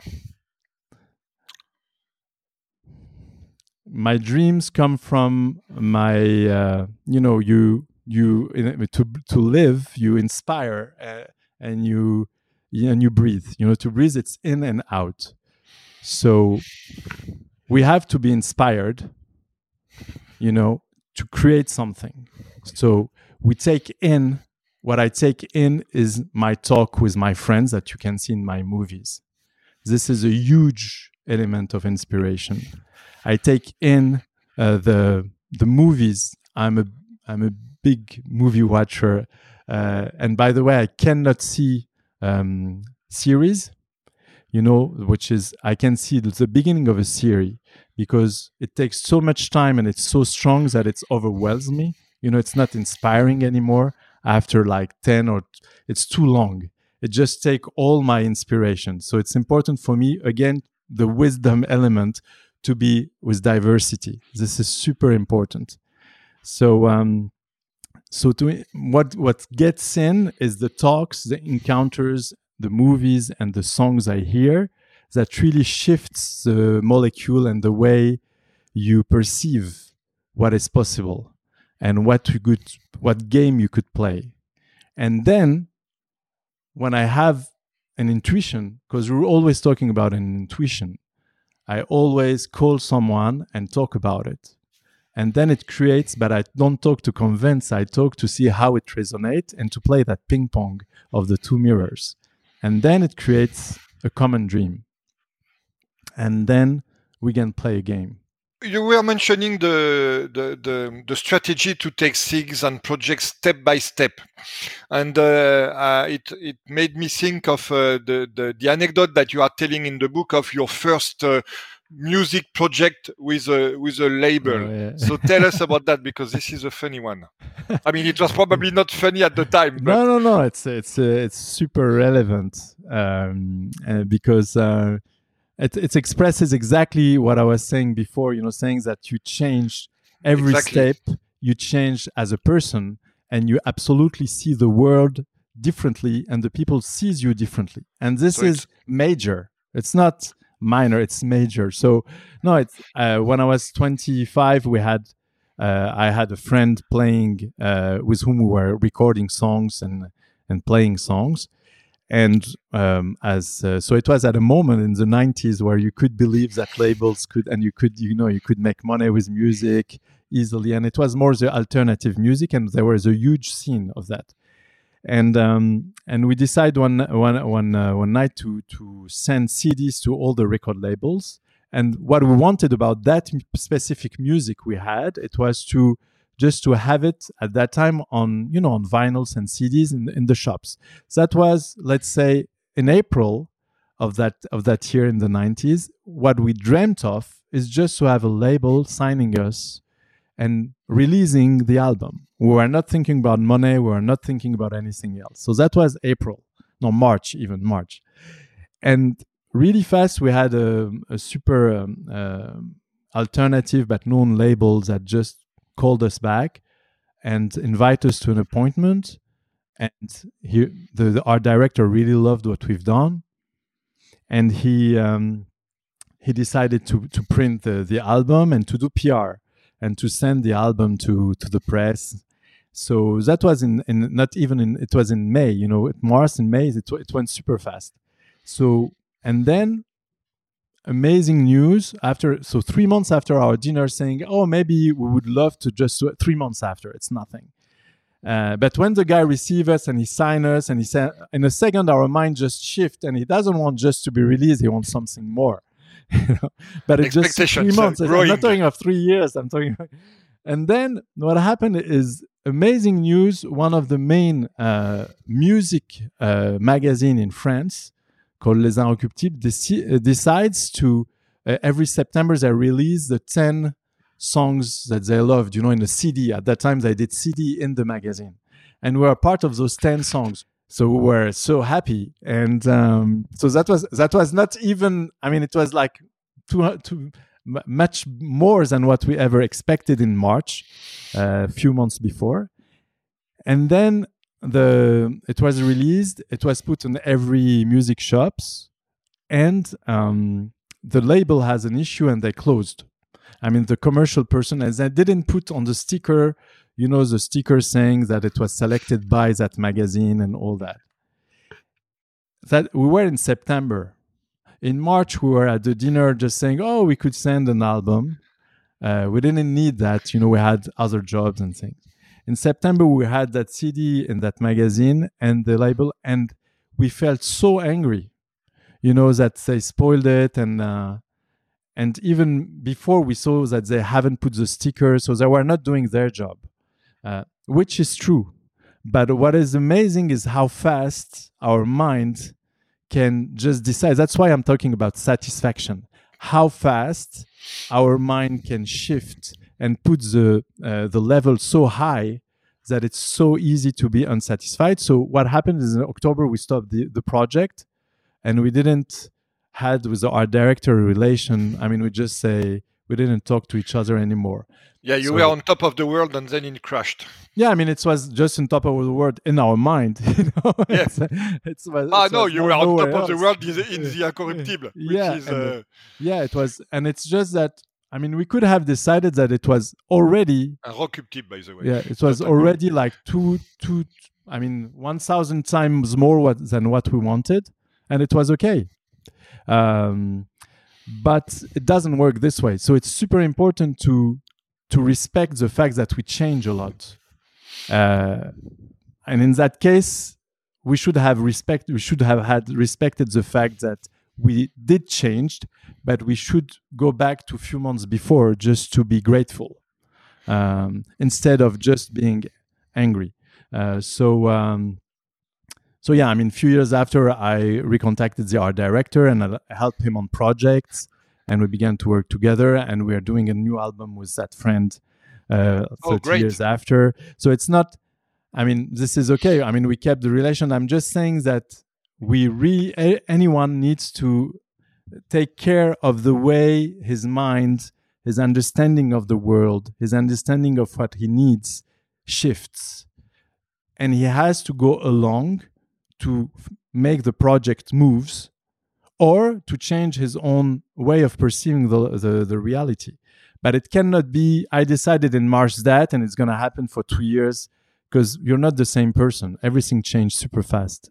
Speaker 3: My dreams come from my, uh, you know, you you to to live, you inspire, uh, and you and you breathe. You know, to breathe, it's in and out. So we have to be inspired, you know, to create something. So we take in, what I take in is my talk with my friends that you can see in my movies. This is a huge element of inspiration. I take in uh, the the movies. I'm a I'm a big movie watcher, uh, and by the way, I cannot see um, series. You know, which is I can see the beginning of a series because it takes so much time and it's so strong that it overwhelms me. You know, it's not inspiring anymore after like ten or it's too long. It just takes all my inspiration. So it's important for me, again, the wisdom element to be with diversity. This is super important. So, um, so to what what gets in is the talks, the encounters, the movies, and the songs I hear that really shifts the molecule and the way you perceive what is possible and what you could, what game you could play. And then when I have an intuition, because we're always talking about an intuition, I always call someone and talk about it. And then it creates, but I don't talk to convince, I talk to see how it resonates and to play that ping pong of the two mirrors. And then it creates a common dream. And then we can play a game.
Speaker 2: You were mentioning the, the, the, the strategy to take things and projects step by step. And uh, uh, it, it made me think of uh, the, the, the anecdote that you are telling in the book of your first uh, music project with a, with a label. Oh, yeah. So tell us about that, because this is a funny one. I mean, it was probably not funny at the time. But...
Speaker 3: No, no, no. It's, it's, uh, it's super relevant um, uh, because... Uh, It, it expresses exactly what I was saying before, you know, saying that you change every exactly. step, you change as a person, and you absolutely see the world differently, and the people sees you differently. And this so is major. It's not minor, it's major. So, no, it's, uh, when I was twenty-five, we had, uh, I had a friend playing, uh, with whom we were recording songs and, and playing songs. And um, as uh, so, it was at a moment in the nineties where you could believe that labels could, and you could, you know, you could make money with music easily. And it was more the alternative music, and there was a huge scene of that. And um, and we decided one one one uh, one night to to send C Ds to all the record labels. And what we wanted about that specific music we had, it was to just to have it at that time on, you know, on vinyls and C Ds in, in the shops. So that was, let's say, in April of that of that year in the nineties. What we dreamt of is just to have a label signing us and releasing the album. We were not thinking about money. We were not thinking about anything else. So that was April, no, March, even March. And really fast, we had a, a super um, uh, alternative but known label that just called us back and invited us to an appointment. And he, the, the art director really loved what we've done. And he um, he decided to, to print the, the album and to do P R and to send the album to, to the press. So that was in, in not even in, it was in May, you know, March and May, it, it went super fast. So, and then amazing news after, so three months after our dinner saying, oh, maybe we would love to just, three months after, it's nothing. Uh, but when the guy receives us and he signs us and he said, in a second, our mind just shifts and he doesn't want just to be released, he wants something more. You know? But it's just three months. I'm not talking of three years. I'm talking. And then what happened is amazing news. One of the main uh, music uh, magazine in France called Les Inrecuptibles deci- decides to, uh, every September, they release the ten songs that they loved, you know, in a C D. At that time, they did C D in the magazine. And we were part of those ten songs. So we were so happy. And um, so that was that was not even, I mean, it was like too, too much more than what we ever expected in March, uh, a few months before. And then the it was released, it was put in every music shops, and um, the label has an issue and they closed. I mean, the commercial person, as they didn't put on the sticker, you know, the sticker saying that it was selected by that magazine and all that. That we were in September. In March, we were at the dinner just saying, oh, we could send an album. Uh, we didn't need that. You know, we had other jobs and things. In September, we had that C D in that magazine and the label, and we felt so angry, you know, that they spoiled it. And uh, and even before we saw that they haven't put the sticker, so they were not doing their job, uh, which is true. But what is amazing is how fast our mind can just decide. That's why I'm talking about satisfaction. How fast our mind can shift and put the uh, the level so high that it's so easy to be unsatisfied. So what happened is in October, we stopped the, the project and we didn't had with our director relation, I mean, we just say we didn't talk to each other anymore.
Speaker 2: Yeah, you
Speaker 3: So-
Speaker 2: were on top of the world and then it crashed.
Speaker 3: Yeah, I mean, it was just on top of the world in our mind. You know?
Speaker 2: Yeah.
Speaker 3: it's, it's, was-
Speaker 2: Ah,
Speaker 3: it
Speaker 2: no,
Speaker 3: was
Speaker 2: you
Speaker 3: no-
Speaker 2: were on
Speaker 3: nowhere
Speaker 2: top of the
Speaker 3: else.
Speaker 2: world in the, in the Incorruptible, which
Speaker 3: Yeah,
Speaker 2: is...
Speaker 3: and,
Speaker 2: Uh,
Speaker 3: Yeah, it was, and it's just that. I mean, we could have decided that it was already.
Speaker 2: un Rockuptible, by the way.
Speaker 3: Yeah, it was
Speaker 2: Not a
Speaker 3: already like two, two. I mean, one thousand times more what, than what we wanted, and it was okay. Um, but it doesn't work this way. So it's super important to to respect the fact that we change a lot. Uh, and in that case, we should have respect. We should have had respected the fact that we did change, but we should go back to a few months before just to be grateful, um, instead of just being angry. Uh, so, um, so yeah, I mean, a few years after, I recontacted the art director and I helped him on projects, and we began to work together. And we are doing a new album with that friend uh,
Speaker 2: Oh,
Speaker 3: thirty
Speaker 2: great.
Speaker 3: years after. So it's not. I mean, this is okay. I mean, we kept the relation. I'm just saying that we re a- anyone needs to take care of the way his mind, his understanding of the world, his understanding of what he needs shifts, and he has to go along to f- make the project moves, or to change his own way of perceiving the, the, the reality. But it cannot be, I decided in March that, and it's going to happen for two years, because you're not the same person. Everything changed super fast.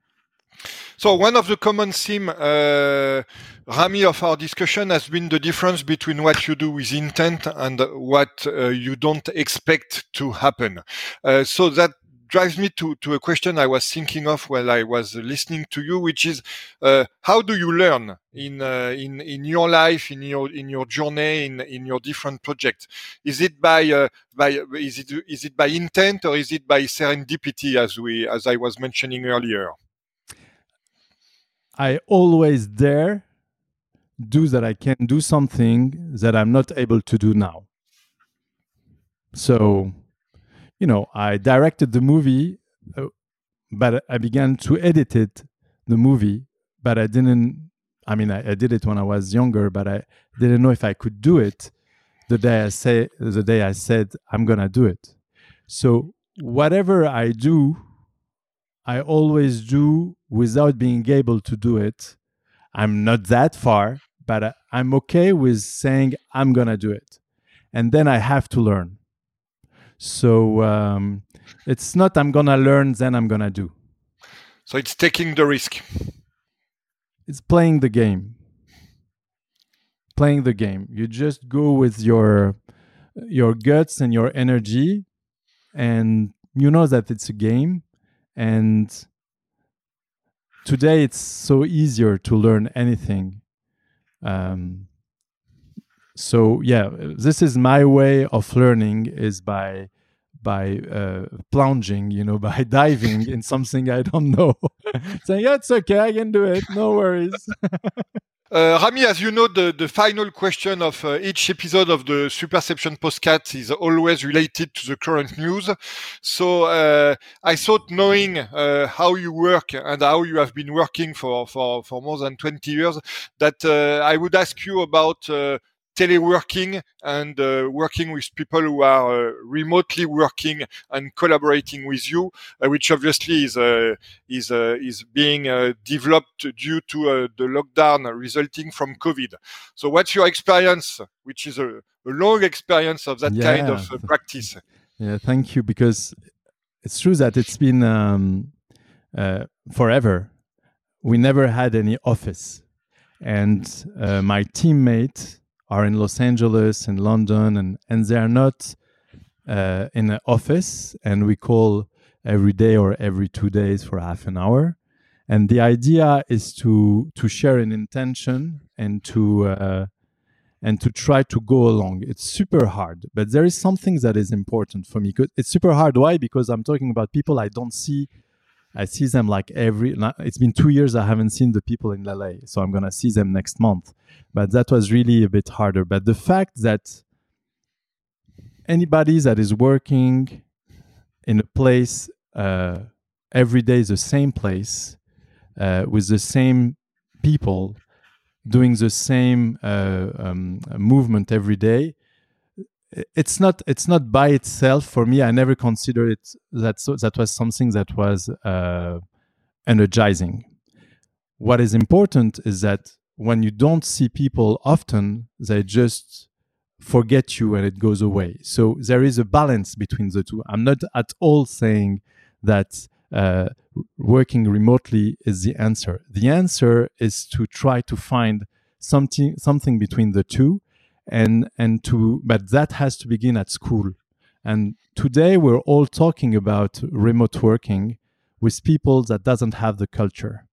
Speaker 2: So one of the common theme, uh, Rami, of our discussion has been the difference between what you do with intent and what uh, you don't expect to happen. Uh, so that drives me to, to a question I was thinking of while I was listening to you, which is uh, how do you learn in uh, in in your life, in your in your journey, in in your different projects? Is it by uh, by is it is it by intent, or is it by serendipity, as we as I was mentioning earlier?
Speaker 3: I always dare do that I can do something that I'm not able to do now. So, you know, I directed the movie, uh, but I began to edit it, the movie, but I didn't, I mean, I, I did it when I was younger, but I didn't know if I could do it the day I say, the day I said, I'm going to do it. So whatever I do, I always do without being able to do it. I'm not that far, but I, I'm okay with saying I'm going to do it. And then I have to learn. So um, it's not I'm going to learn, then I'm going to do.
Speaker 2: So it's taking the risk.
Speaker 3: It's playing the game. Playing the game. You just go with your your guts and your energy, and you know that it's a game. And today it's so easier to learn anything. Um, so yeah, this is my way of learning, is by by uh, plunging, you know, by diving in something I don't know. Saying, yeah, it's okay, I can do it, no worries.
Speaker 2: Uh, Rami, as you know, the, the final question of uh, each episode of the Superception Podcast is always related to the current news. So uh, I thought, knowing uh, how you work and how you have been working for, for, for more than twenty years, that uh, I would ask you about uh, teleworking and uh, working with people who are uh, remotely working and collaborating with you, uh, which obviously is uh, is uh, is being uh, developed due to uh, the lockdown resulting from COVID. So, what's your experience, which is a, a long experience of that
Speaker 3: Yeah.
Speaker 2: kind of uh, practice?
Speaker 3: Yeah, thank you, because it's true that it's been um, uh, forever. We never had any office, and uh, my teammates are in Los Angeles and London, and, and they are not uh, in an office, and we call every day or every two days for half an hour. And the idea is to to share an intention and to uh, and to try to go along. It's super hard, but there is something that is important for me. It's super hard. Why? Because I'm talking about people I don't see. I see them like every, it's been two years I haven't seen the people in L A, so I'm going to see them next month. But that was really a bit harder. But the fact that anybody that is working in a place uh, every day, the same place, uh, with the same people, doing the same uh, um, movement every day, it's not it's not by itself for me. I never considered it that so, that was something that was uh, energizing. What is important is that when you don't see people often, they just forget you and it goes away. So there is a balance between the two. I'm not at all saying that uh, working remotely is the answer. The answer is to try to find something something between the two, and and to but that has to begin at school. And today we're all talking about remote working with people that doesn't have the culture.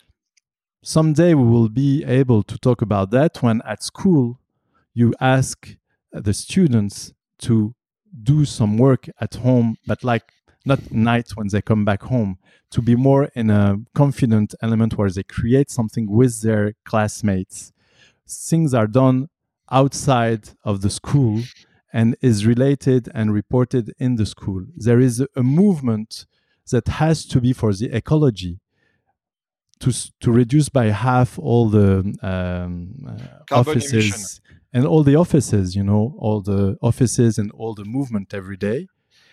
Speaker 3: Someday we will be able to talk about that when at school you ask the students to do some work at home, but like not night when they come back home, to be more in a confident element where they create something with their classmates. Things are done outside of the school and is related and reported in the school. There is a, a movement that has to be for the ecology to to reduce by half all the um, uh, offices
Speaker 2: emission.
Speaker 3: and all the offices, you know, all the offices and all the movement every day.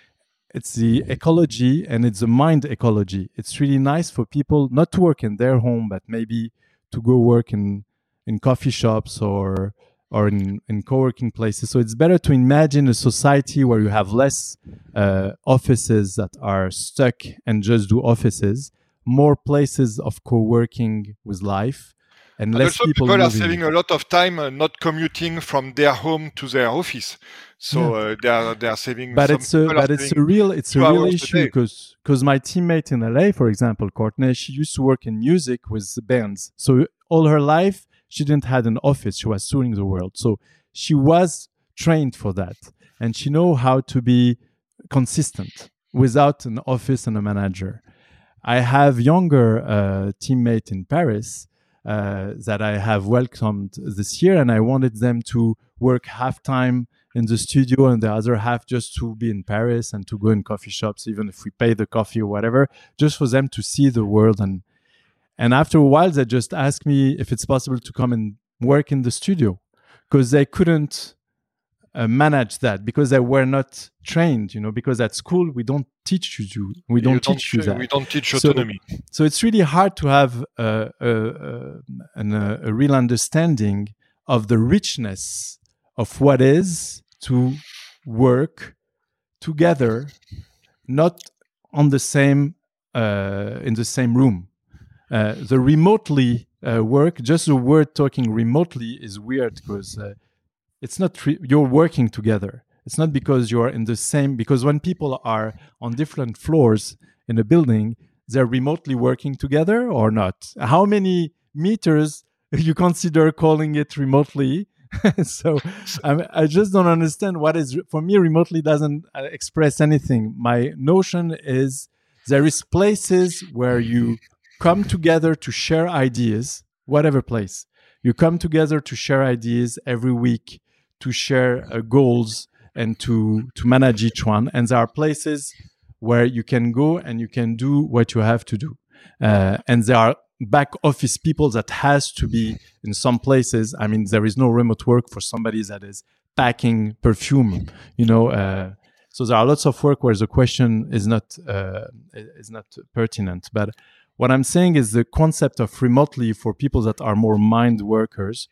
Speaker 3: It's the ecology and it's the mind ecology. It's really nice for people not to work in their home, but maybe to go work in, in coffee shops or or in, in co-working places. So it's better to imagine a society where you have less uh, offices that are stuck and just do offices, more places of co-working with life, and, and less
Speaker 2: also
Speaker 3: people,
Speaker 2: people are
Speaker 3: moving.
Speaker 2: saving a lot of time uh, not commuting from their home to their office. So
Speaker 3: Yeah.
Speaker 2: uh, they are they are saving.
Speaker 3: But
Speaker 2: some
Speaker 3: it's a
Speaker 2: people are
Speaker 3: but it's a
Speaker 2: saving
Speaker 3: real it's a
Speaker 2: two
Speaker 3: real
Speaker 2: hours a
Speaker 3: issue
Speaker 2: day.
Speaker 3: because because my teammate in L A, for example, Courtney, she used to work in music with the bands. So all her life she didn't had an office. She was touring the world. So she was trained for that, and she know how to be consistent without an office and a manager. I have younger uh, teammate in Paris uh, that I have welcomed this year, and I wanted them to work half time in the studio and the other half just to be in Paris and to go in coffee shops, even if we pay the coffee or whatever, just for them to see the world. And and after a while, they just asked me if it's possible to come and work in the studio because they couldn't uh, manage that because they were not trained, you know, because at school we don't teach you, we don't
Speaker 2: You
Speaker 3: teach you that.
Speaker 2: We don't teach
Speaker 3: So-
Speaker 2: autonomy.
Speaker 3: So it's really hard to have uh, a, a, an, uh, a real understanding of the richness of what is to work together, not on the same uh, in the same room. Uh, the remotely uh, work, just the word talking remotely is weird because uh, it's not re- you're working together. It's not because you're in the same, because when people are on different floors in a building, they're remotely working together or not. How many meters you consider calling it remotely? So I, I just don't understand what is, for me, remotely doesn't uh, express anything. My notion is there is places where you come together to share ideas, whatever place. You come together to share ideas every week, to share uh, goals and to, to manage each one. And there are places where you can go and you can do what you have to do. Uh, and there are back office people that has to be in some places. I mean, there is no remote work for somebody that is packing perfume, you know. Uh, so there are lots of work where the question is not uh, is not pertinent. But what I'm saying is the concept of remotely for people that are more mind workers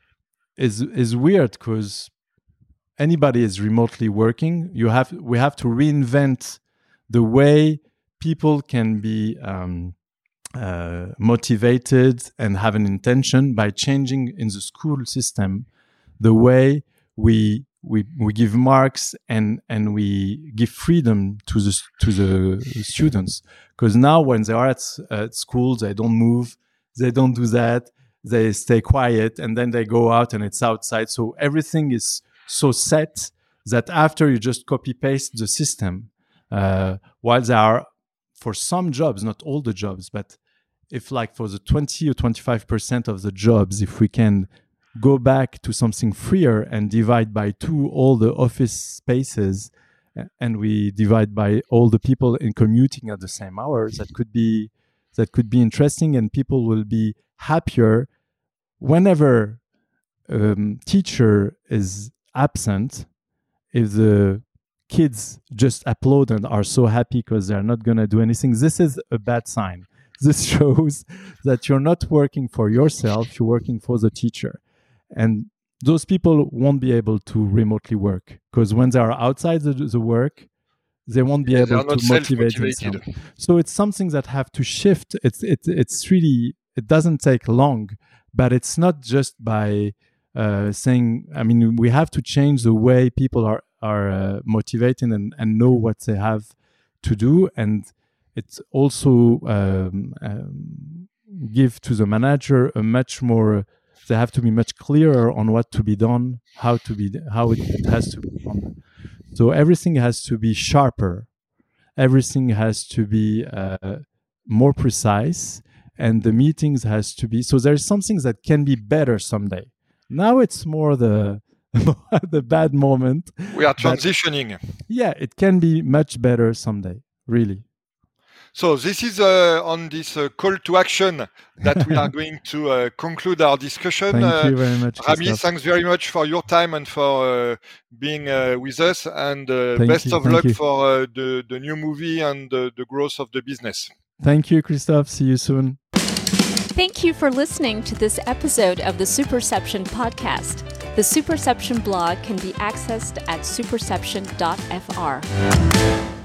Speaker 3: is is weird because anybody is remotely working. You have we have to reinvent the way people can be um, uh, motivated and have an intention by changing in the school system the way we we we give marks and and we give freedom to the to the students. Because now when they are at, at school, they don't move, they don't do that, they stay quiet, and then they go out and it's outside. So everything is so set that after you just copy paste the system. Uh, while there are, for some jobs, not all the jobs, but if like for the twenty or twenty-five percent of the jobs, if we can go back to something freer and divide by two all the office spaces, and we divide by all the people in commuting at the same hours, that could be that could be interesting, and people will be happier whenever um, teacher is absent, if the kids just applaud and are so happy because they're not going to do anything, this is a bad sign. This shows that you're not working for yourself, you're working for the teacher. And those people won't be able to remotely work, because when they are outside the, the work, they won't be
Speaker 2: Yeah,
Speaker 3: able
Speaker 2: they
Speaker 3: to motivate themselves. So it's something that have to shift. It's it, it's really, it doesn't take long, but it's not just by uh, saying, I mean, we have to change the way people are, are uh, motivated and, and know what they have to do. And it's also um, um, give to the manager a much more, they have to be much clearer on what to be done, how to be, how it, it has to be done. So everything has to be sharper. Everything has to be uh, more precise, and the meetings has to be. So there's some things that can be better someday. Now it's more the the bad moment.
Speaker 2: We are transitioning.
Speaker 3: But, yeah, it can be much better someday. Really.
Speaker 2: So this is uh, on this uh, call to action that we are going to uh, conclude our discussion.
Speaker 3: Thank
Speaker 2: uh,
Speaker 3: you very much,
Speaker 2: Rami,
Speaker 3: Christophe.
Speaker 2: thanks very much for your time and for uh, being uh, with us, and uh,
Speaker 3: Thank
Speaker 2: best
Speaker 3: you,
Speaker 2: of
Speaker 3: thank
Speaker 2: luck
Speaker 3: you.
Speaker 2: for uh, the, the new movie and uh, the growth of the business.
Speaker 3: Thank you, Christophe. See you soon.
Speaker 1: Thank you for listening to this episode of the Superception podcast. The Superception blog can be accessed at superception dot f r.